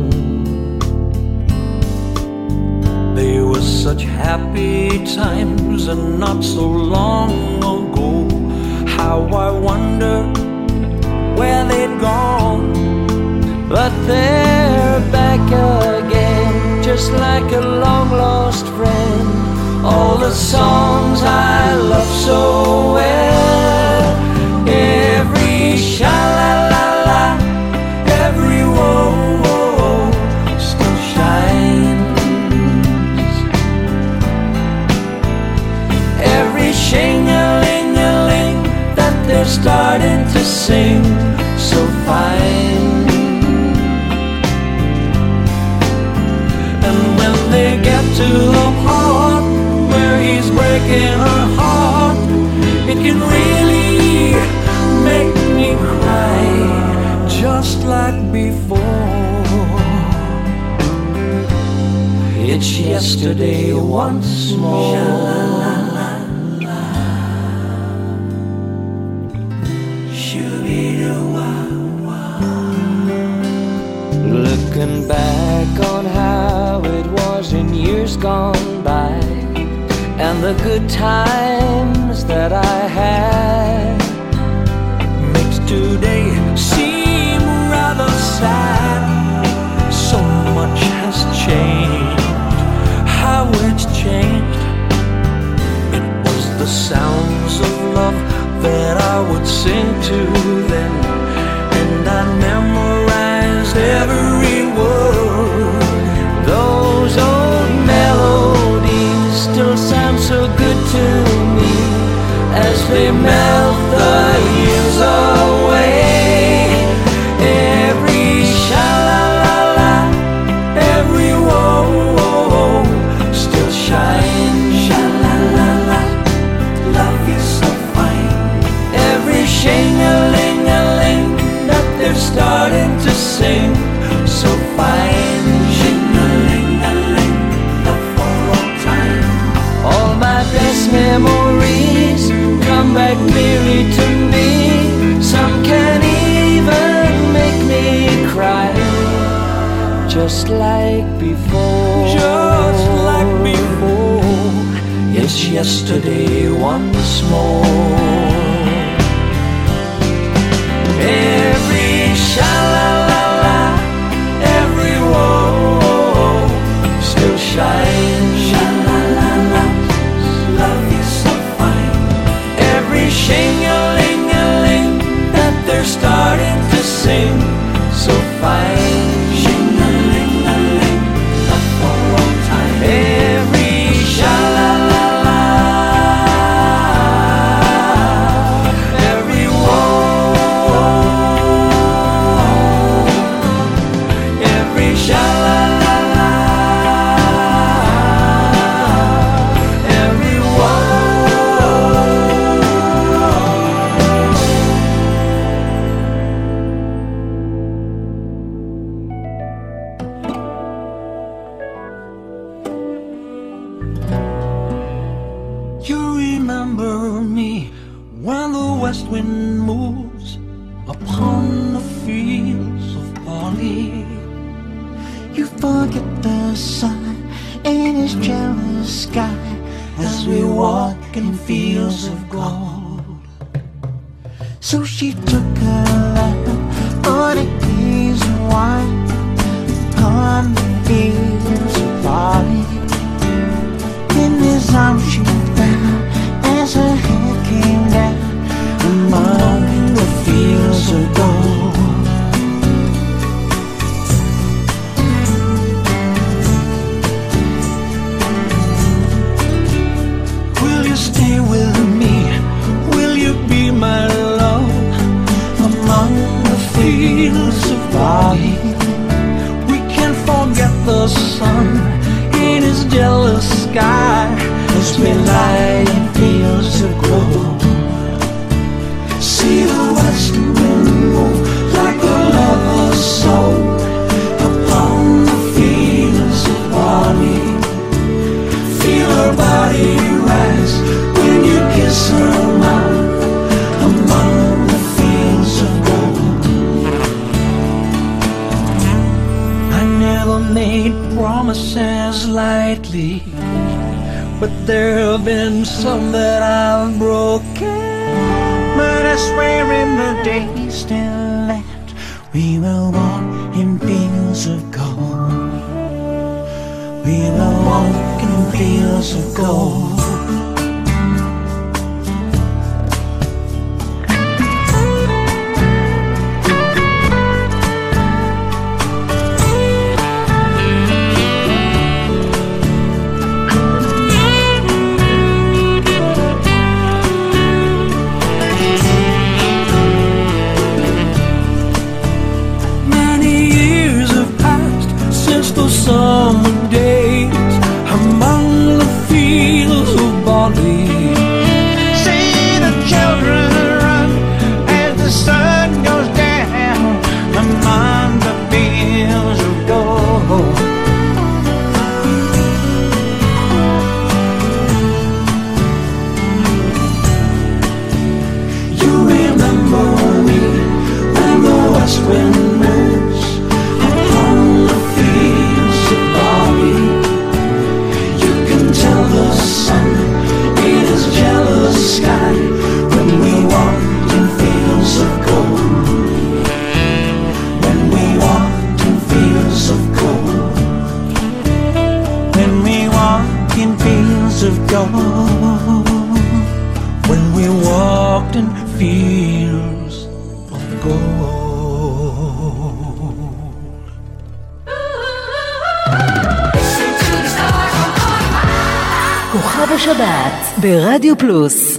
They were such happy times, and not so long ago. How I wonder where they'd gone. But they're back again, just like a long-lost friend. All the songs I love so well, every sha-la-la-la, every whoa-whoa still shines. Every shing-a-ling-a-ling that they're starting to sing so fine. And when they get to the part where he's breaking her heart, it can really make me cry, just like before. It's yesterday once more. Looking back on how it was in years gone by, and the good times that I had makes today seem rather sad. So much has changed, how it's changed. It was the sounds of love that I would sing to then, and I memorized every word. Those old melodies still sound so good to me as they melt the years away. Every sha-la-la-la, every whoa-whoa still shines. Sha-la-la-la, love you so fine. Every shing-a-ling-a-ling that they're starting to sing so fine. Shing-a-ling-a-ling, love for all time. All my best memories come back clearly to me. Some can even make me cry, just like before. Just like before. It's yesterday once more. Every sha-la-la-la, every whoa still shines. Sha-la-la-la, love you so fine. Every shing-a-ling-a-ling that they're starting to sing so fine. Shing-a-ling-a-ling, love for all time. Every sha-la-la-la, every whoa, every sha-la-la-la, every whoa. You remember me when the west wind moves upon the fields of barley. You forget the sun in his jealous sky as we walk in fields of gold. So she took her love for the days of wine upon the fields of barley. In his arms she fell as her head came down among the fields of gold. Will you stay with me? Will you be my love Among the fields of barley, We can't forget the sun in his jealous sky as we lie in fields of gold. See the west wind move like a lover's soul Upon the fields of barley, Feel her body rise when you kiss her mouth among the fields of gold. I never made promises lightly, but there have been some that I've broken. But I swear in the distant land we will walk in fields of gold. We will walk in fields of gold. Many years have passed since those summer days among the fields כוכב השבת ברדיו פלוס.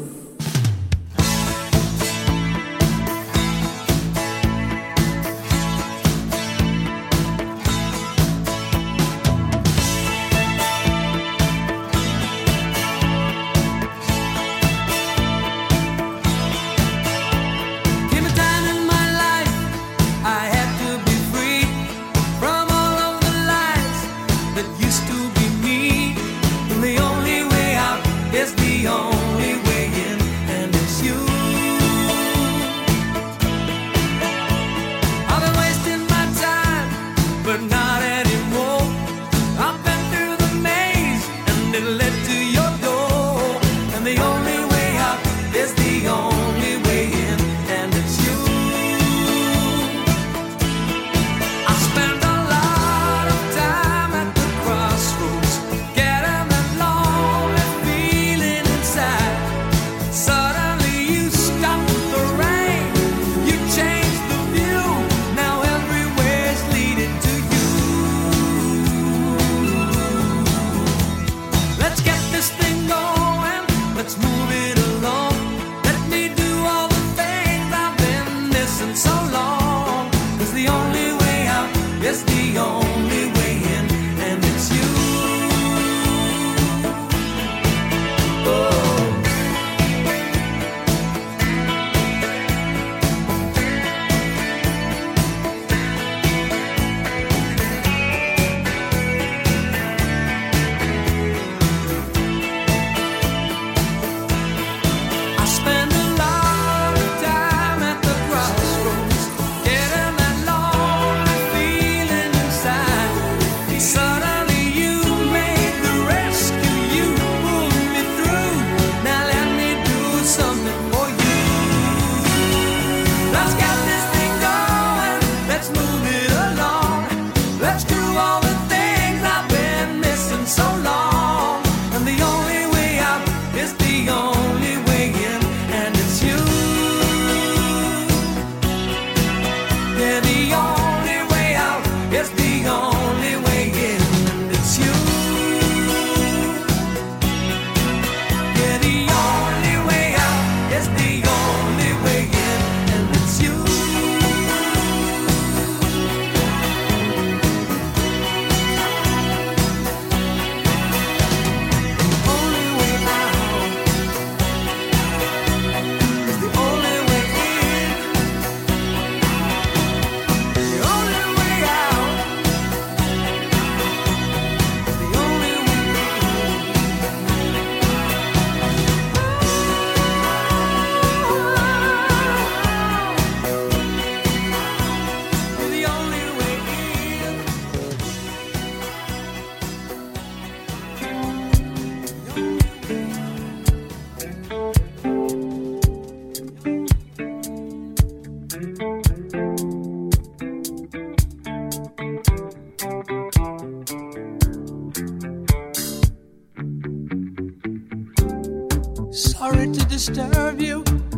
Sorry to disturb you,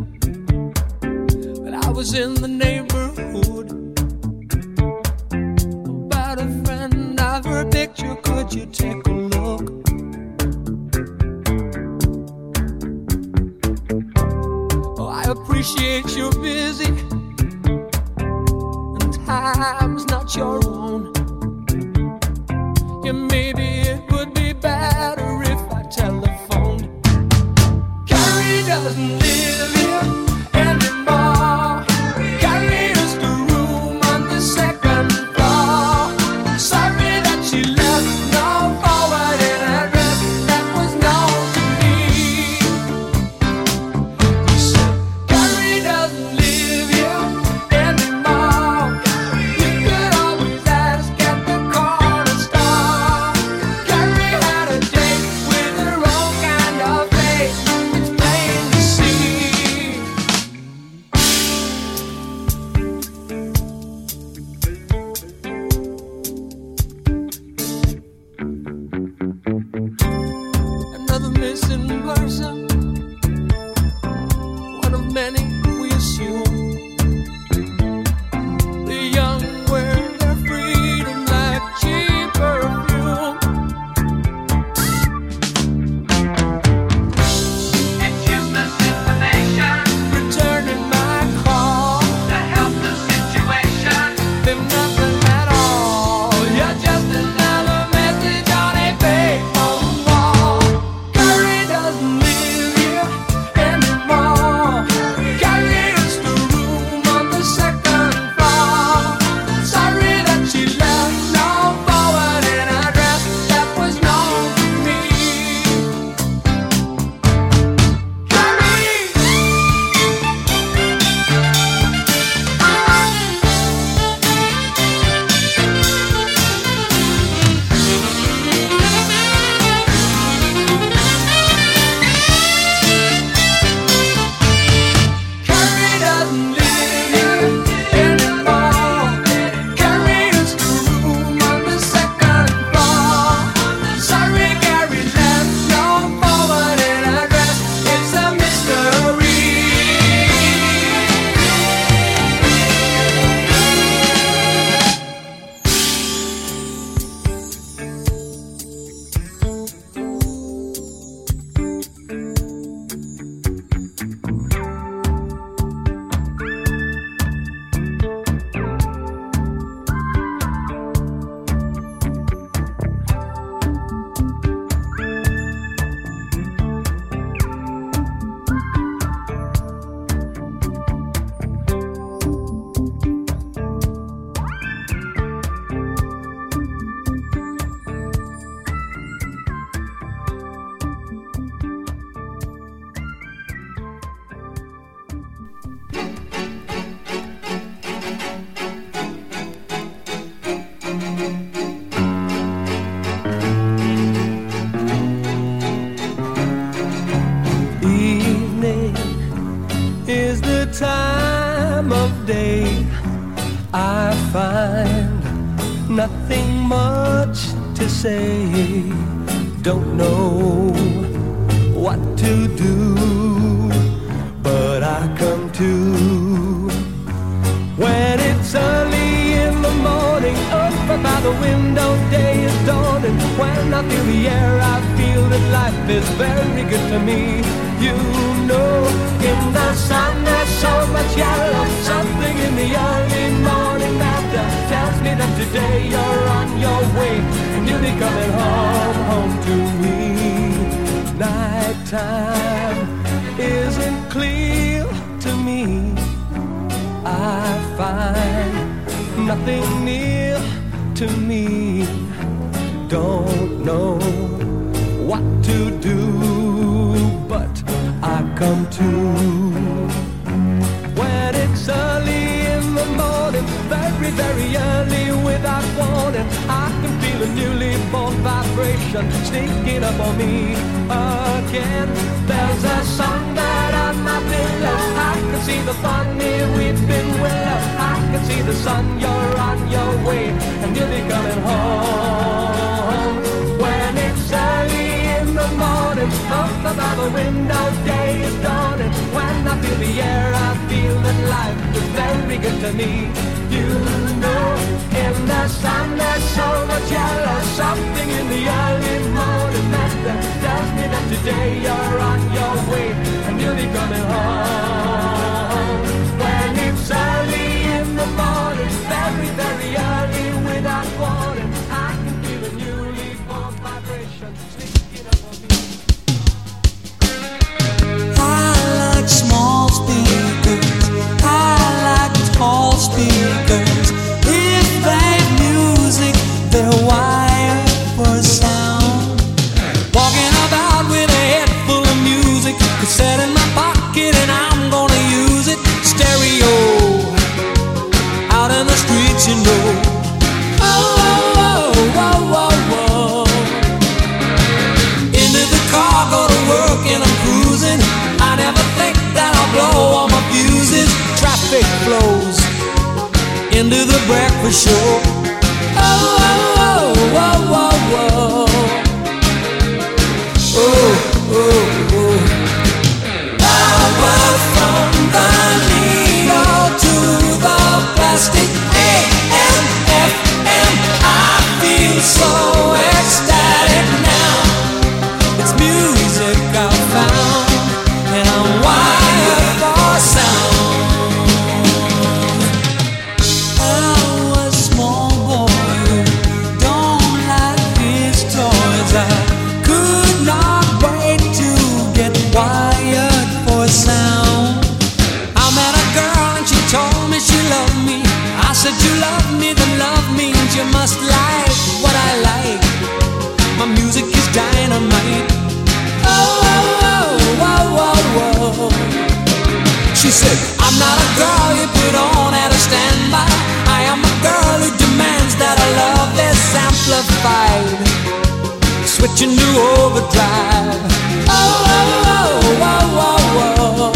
but I was in the neighborhood about a friend of her picture. Could you take a look? Oh, I appreciate you're busy and time's not your own. Yeah, maybe it would be better if I telephoned. Carrie doesn't live here anymore. Carrie is the room on the second floor. Sorry that she left no forwarded address that was known to me. He said, Carrie doesn't live here. much to say, don't know what to do, but I come to when it's early in the morning, up by the window, day is dawning. When I feel the air, I feel that life is very good to me. You know, in the sun there's so much yellow, something in the early morning that tells me that today you're on your way and you'll be coming home, home to me. Nighttime isn't clear to me. I find nothing near to me. Don't know what to do, but I come to when it's early in the morning, very, very early without warning. I can feel a newly born vibration sneaking up on me again. There's a songbird on my pillow. I can see the funny weeping willow. I can see the sun, you're on your way and you'll be coming home. When it's early in the morning, up above the window, day is dawning. When I feel the air, I feel that life is very good to me. You know, in the sun there's so much yellow, something in the early morning that tells me that today you're on your way and you'll be coming home. When it's early in the morning, very, very early without warning, I can feel a newly born vibration sneaking up on me. I like small speakers, I like tall speakers. If they've music, they're wired for sound. Walking about with a head full of music, cassette in my pocket and I'm gonna use it. Stereo, out in the streets, you know. Oh, oh, oh, oh, oh, oh. Into the car, go to work and I'm cruising. I never think that I'll blow all my fuses. Traffic flows into the breakfast show. Oh, oh, oh, oh, oh, oh. Oh, oh, oh. Power from the needle to the plastic. A M, F M, I feel so ecstatic now. It's music I found, and I'm wired for sound. I was a small boy who don't like his toys. I could not wait to get wired for sound. I met a girl and she told me she loved me. I said you love me, then love means you must like what I like. My music is dynamite. Oh, oh, oh, oh, oh, oh. She said, I'm not a girl you put on at a standby. I am a girl who demands that I love is amplified, switching to overdrive. Oh, oh, oh, oh, oh, oh.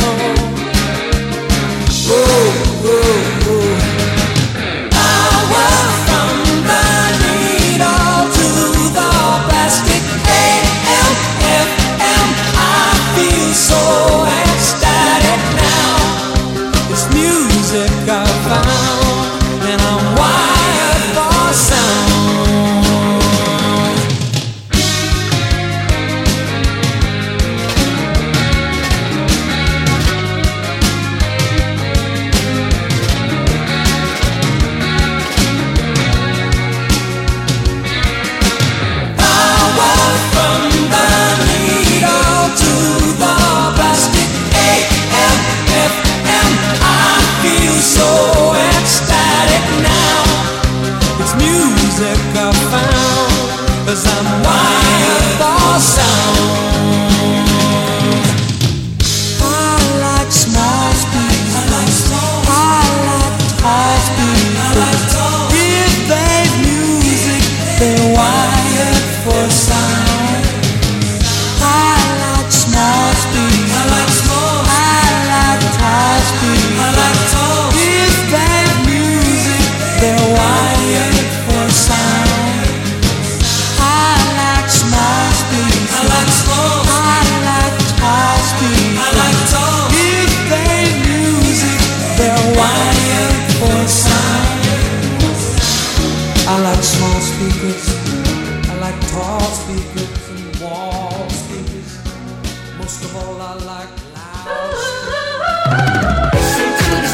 Oh, oh, oh. Power from the needle to the plastic. A M, F M, I feel so ecstatic now. It's music I found, and I'm wired for sound. So ecstatic now. It's music I found, 'cause I'm wired for sound. I like small speakers, I like tall speakers. If they've music, they're wired for sound. I like small speakers, I like tall speakers. I like tall. If they've music, they're wired for sound. like small speakers, I like tall speakers and wall speakers. Most of all, I like loud speakers.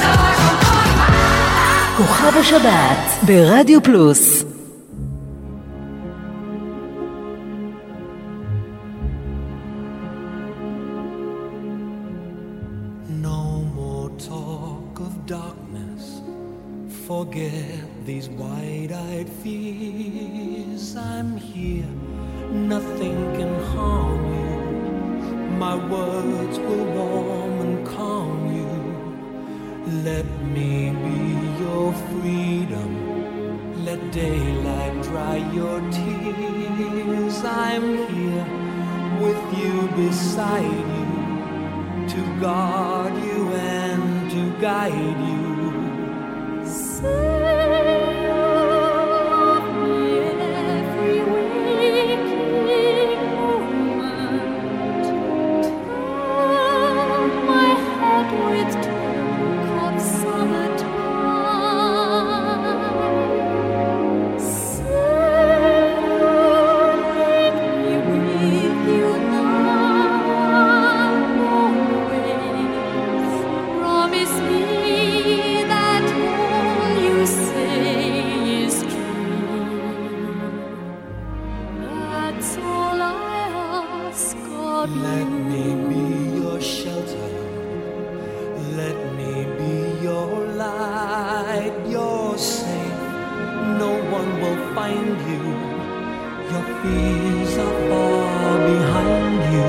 כוכב השבת ברדיו פלוס. No more talk of darkness. Forget these wide-eyed fears. I'm here, nothing can harm you. My words will warm and calm you. Let me be your freedom. Let daylight dry your tears. I'm here with you, beside you, to guard you and to guide you. Say you love me every waking moment. Turn my head with talk of summertime. Say you'll make me with you now, always. Promise me that all you say is true. That's all I ask of Let you. me be your shelter. Let me be your light. You're safe. No one will find you. Your fears are far behind you.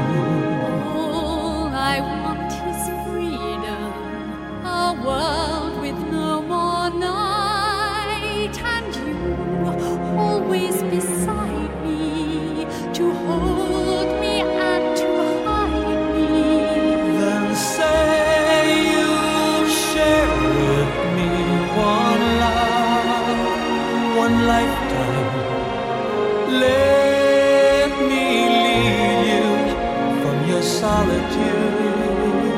All I want is freedom, a world with no more night, and you always beside me, to hold me and to hide me. Then say you'll share with me one love, one lifetime. Let me lead you from your solitude.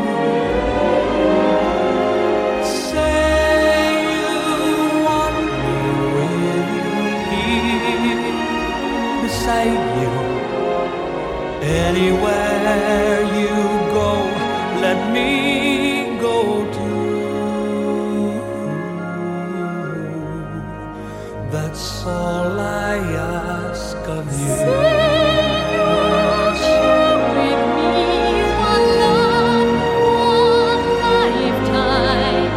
Say you want me with you here, beside you. Anywhere you go, let me go too. That's all I ask of you. You'll share with me one love, one lifetime.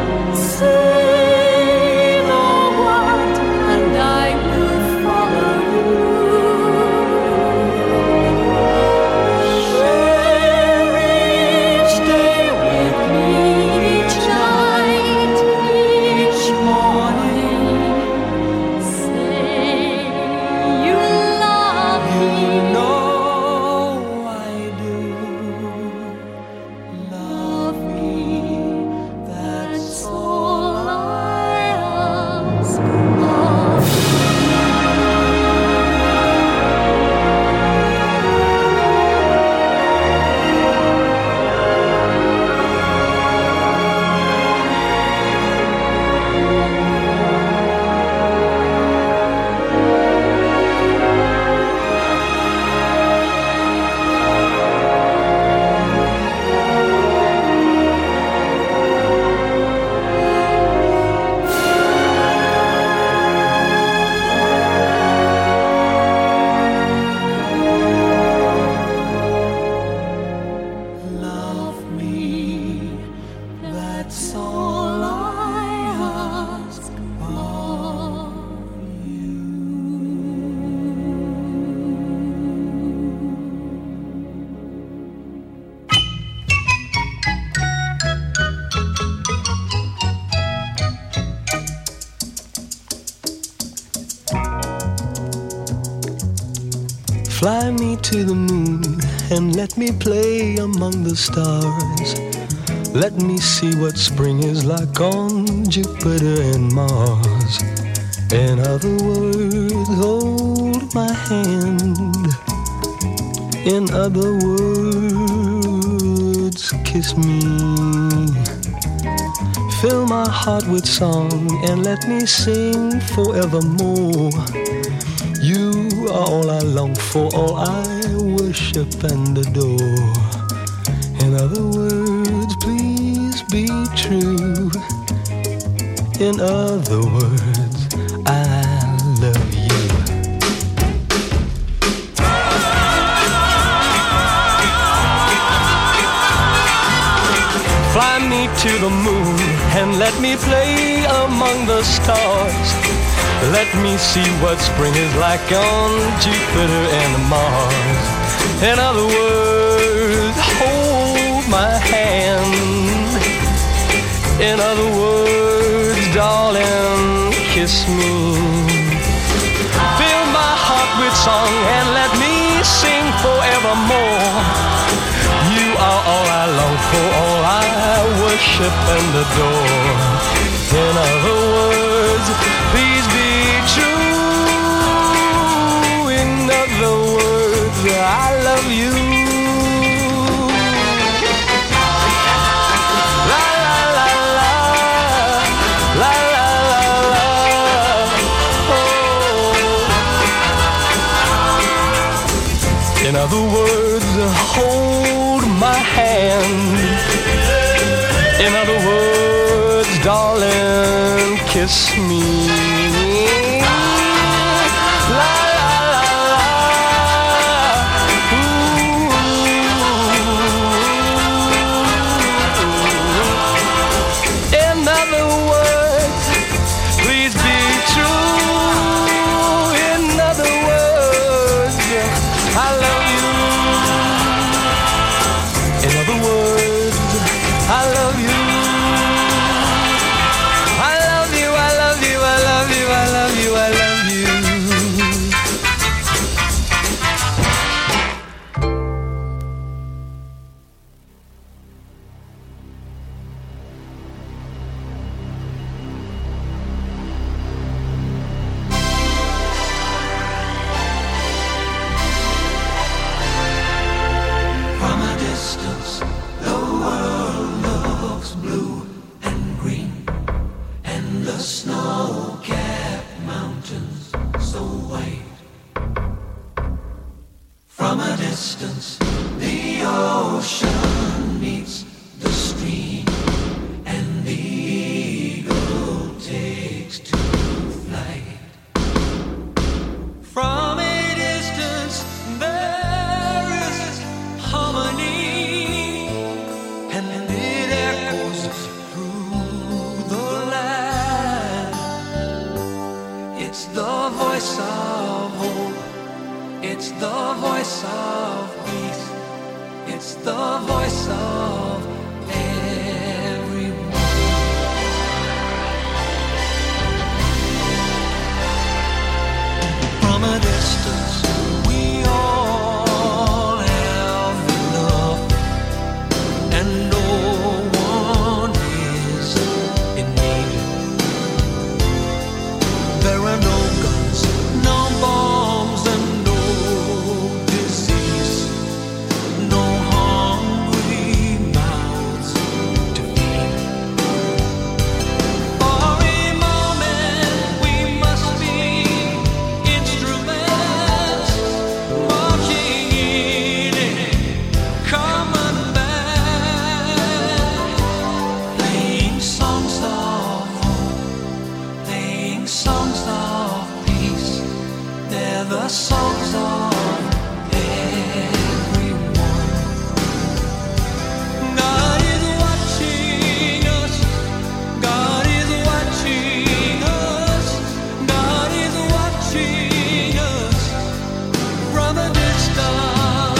Say the word and I will follow you. Share each day with me, each night, each morning. Say you love You me. know I do. Love me, that's all I ask of love me, that's all I ask of you. Fly me to the moon and let me play among the stars. Let me see what spring is like on Jupiter and Mars. In other words, hold my hand. In other words, kiss me. Fill my heart with song and let me sing forevermore. You are all I long for, all I worship and adore. In other words, please be true. In other words, I love you. Fly me to the moon and let me play among the stars. Let me see what spring is like on Jupiter and Mars. In other words, hold my hand. In other words, darling, kiss me. Fill my heart with song and let me sing forevermore. You are all I long for, all I worship and adore. In other words, please be true. In other words, I love you. La la la la, la la la la. Oh. In other words, hold my hand. In other words, darling, kiss me. La la la la. Ooh. In other words, please be true. In other words, I love you. In other words, I love you. I love you, I love you, I love you, I love you, I love you. From a distance, the world looks blue and green, and the snow-capped mountains so white. From a distance, the ocean meets the stream, and the eagle takes to flight. From a distance, there is harmony, and it echoes through the land. It's the voice of hope, it's the voice of peace, it's the voice of everyone. From a distance, we all have enough, and no one is in need. There are no guns, no bombs, and no disease, no hungry mouths to feed. For a moment, we must be instruments marching in a common band, playing songs of hope, playing songs of peace. They're the songs of everyone. God is watching us. God is watching us. God is watching us from a distance.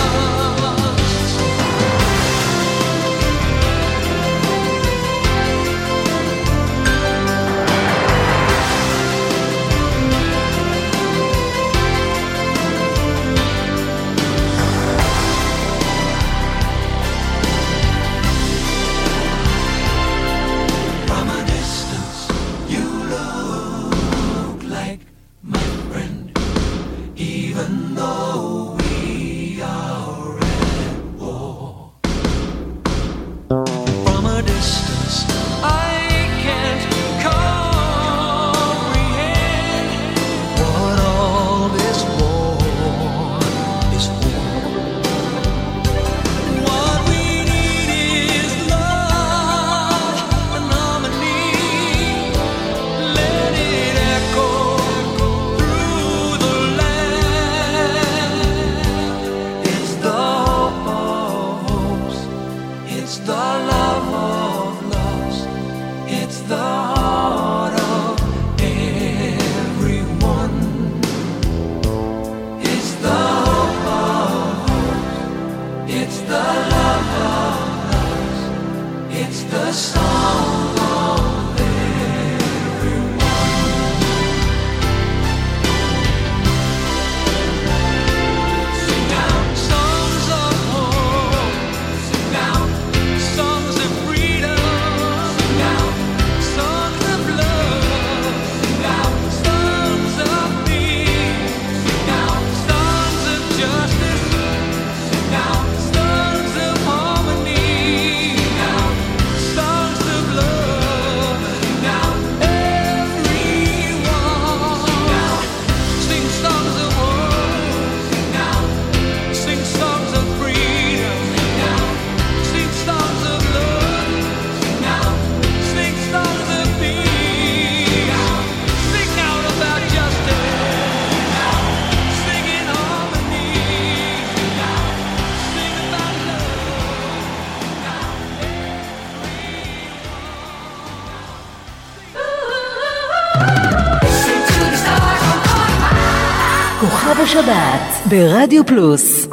כוכב השבת ברדיו פלוס.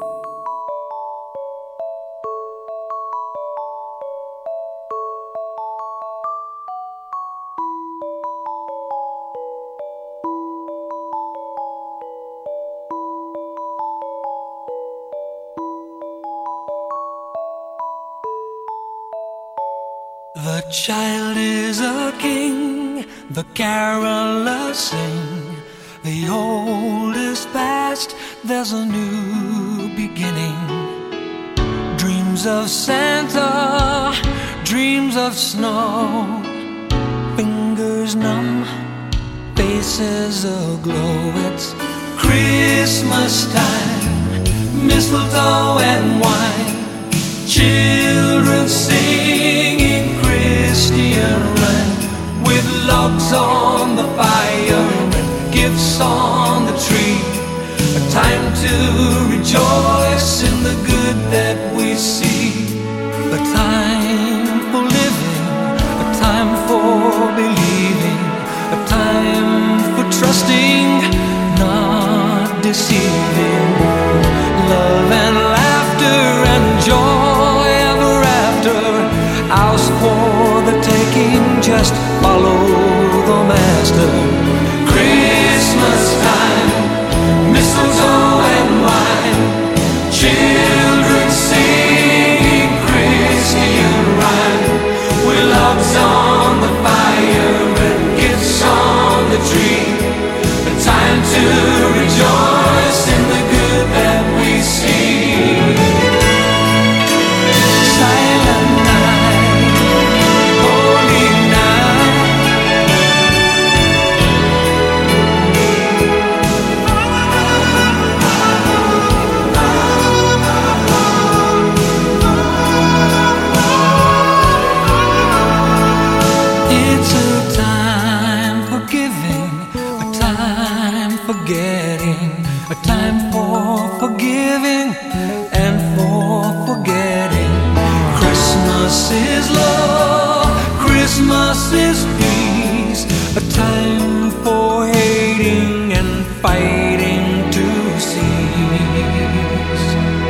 The child is a king, the carolers sing. The old is past, there's a new beginning. Dreams of Santa, dreams of snow. Fingers numb, faces aglow. It's Christmas time, mistletoe and wine. Children singing Christian rhyme, with logs on the fire and gifts on the tree. A time to rejoice in the good that we see. A time for living, a time for believing, a time for trusting, not deceiving. Love and laughter and joy ever after, ours for the taking, just follow the master. Christmas time, mistletoe and wine, children singing Christian rhyme, with logs on the fire and gifts on the tree. A time to rejoice in the good that we see. Silent night, holy night. It's a time for giving, a time for getting, a time for forgiving and for forgetting. Christmas is love, Christmas is peace, a time for hating and fighting to cease.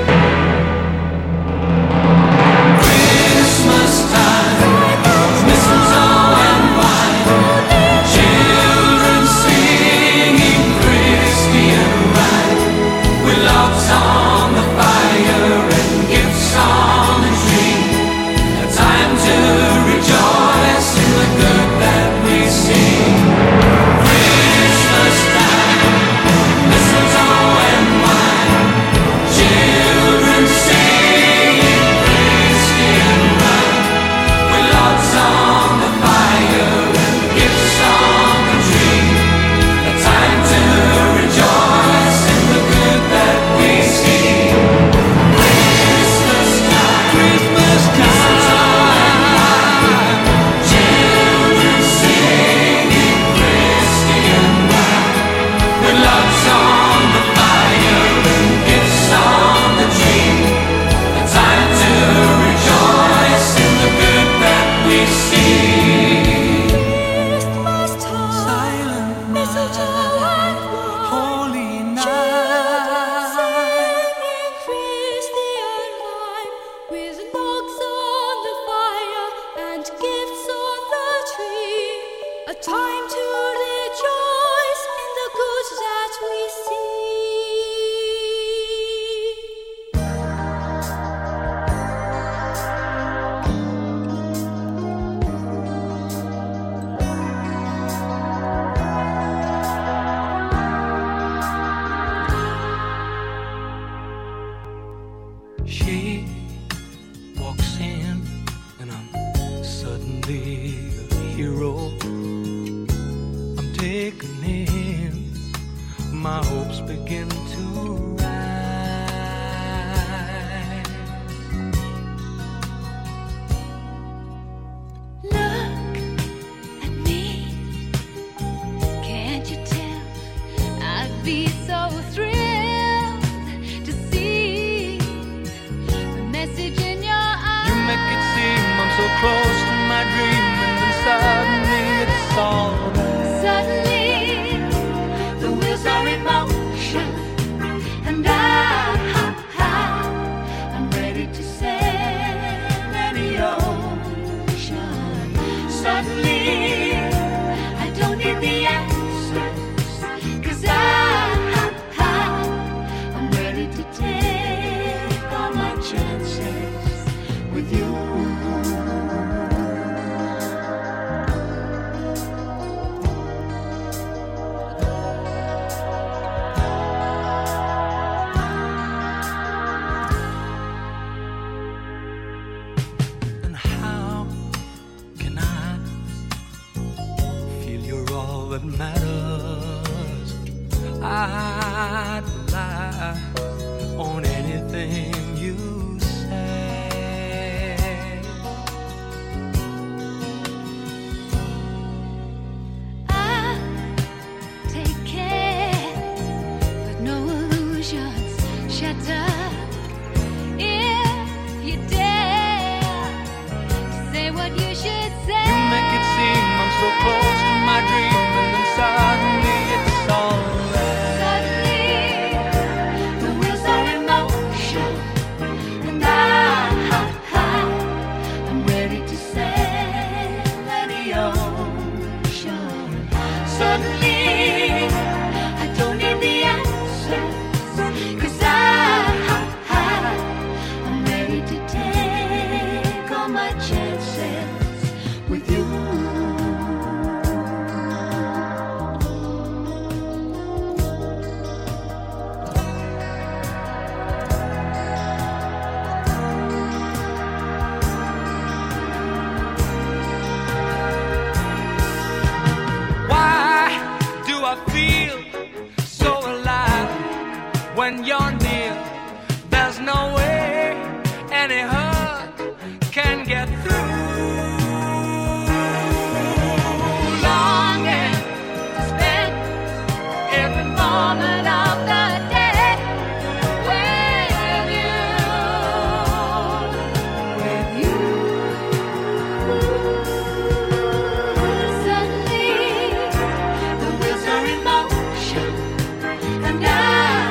Christmas time, mistletoe and wine, children singing Christian rhyme, with logs on the fire and gifts on the tree. A time to rejoice in the good that we see. Christmas time, mistletoe and wine, children singing Christian rhyme, with logs on the fire and gifts on the tree. A time to rejoice in the good that we see. Christmas time, Christmas time, children singing Christian rhyme, with logs on the fire and gifts on the tree. A time to rejoice in the good that we see. Christmas time, Silent mistletoe and night, wine, holy children night. singing Christian rhyme, with logs on the fire and gifts on the tree. A time to rejoice in the good that we see. She walks in and I'm suddenly a hero. I'm taken in, my hopes begin to rise. Look at me, can't you tell? I'd be so thrilled to see the message in your eyes. You make it seem I'm so close to my dream, and then suddenly it's all right. Suddenly, the wheels are in motion. I'd rely on anything you say. I take care that no illusions shatter. If you dare to say what you should say, You make it seem I'm so close to my dream, and then suddenly it's all there. suddenly the wheels are in motion, and I, I'm ready to sail any ocean. Suddenly I don't need the answers, 'cause I, I'm ready to take all my chances with you. Why do I feel so alive when you're near? There's no way any hurt can get through. Longing to spend every moment of the day with you, With you. Suddenly the wheels are in motion, and I,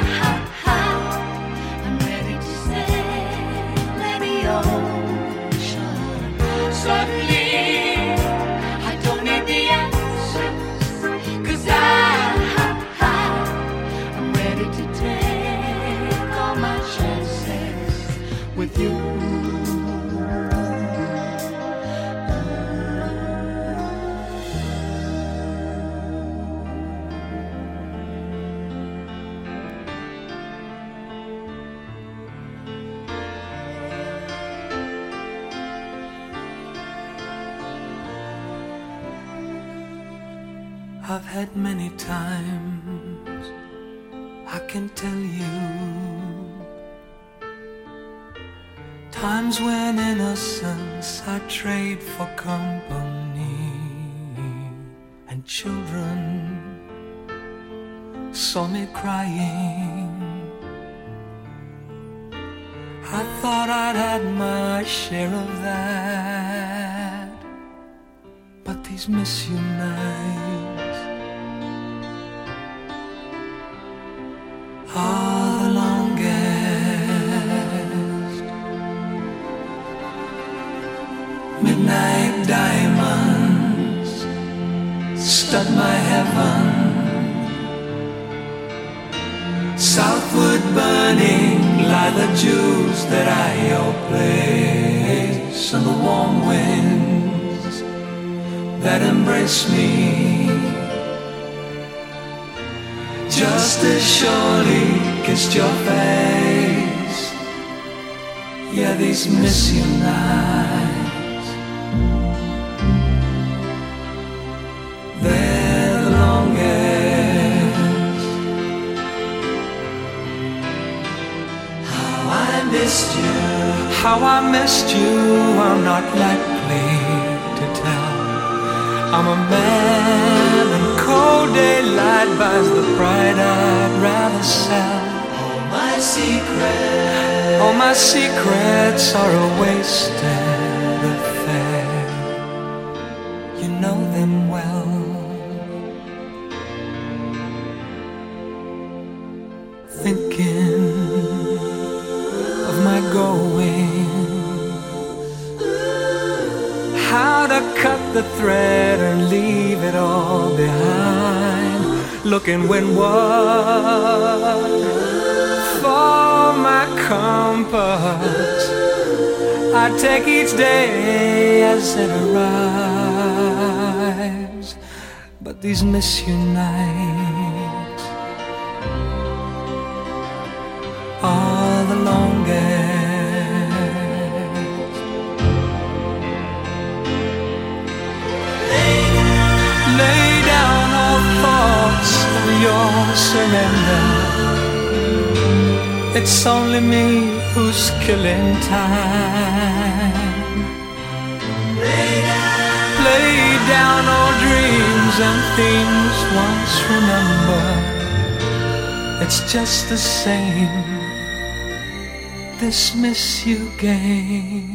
I'm ready to sail any ocean. Suddenly I don't need the answers, 'cause I, I'm ready to take all my chances with you. I've had many times, I can tell you, times when innocence I trade for company, and children saw me crying. I thought I'd had my share of that, but these miss you nights are the longest. Midnight diamonds stud my heaven, southward burning lie the jewels that I your place, and the warm winds that embrace me just as surely kissed your face. Yeah, these miss you nights, they're the longest. How I missed you, how I missed you, I'm not likely to tell. I'm a man, and cold daylight buys the pride I'd rather sell. All my secrets, all my secrets are a wasted affair. You know them well. Thinking of my going, how to cut the thread and leave it all behind. Looking windward for my compass, I take each day as it arrives. But these miss you nights are the longest. Lay down all thoughts of your surrender. It's only me who's killing time. Lay down, lay down all dreams and things once remember. It's just the same, this miss you game.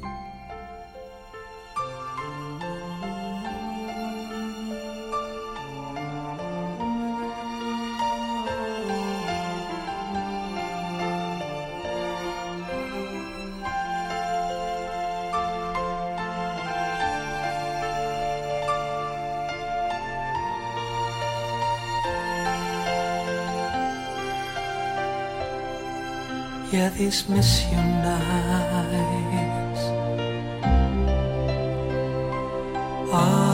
Yeah, these miss you nights are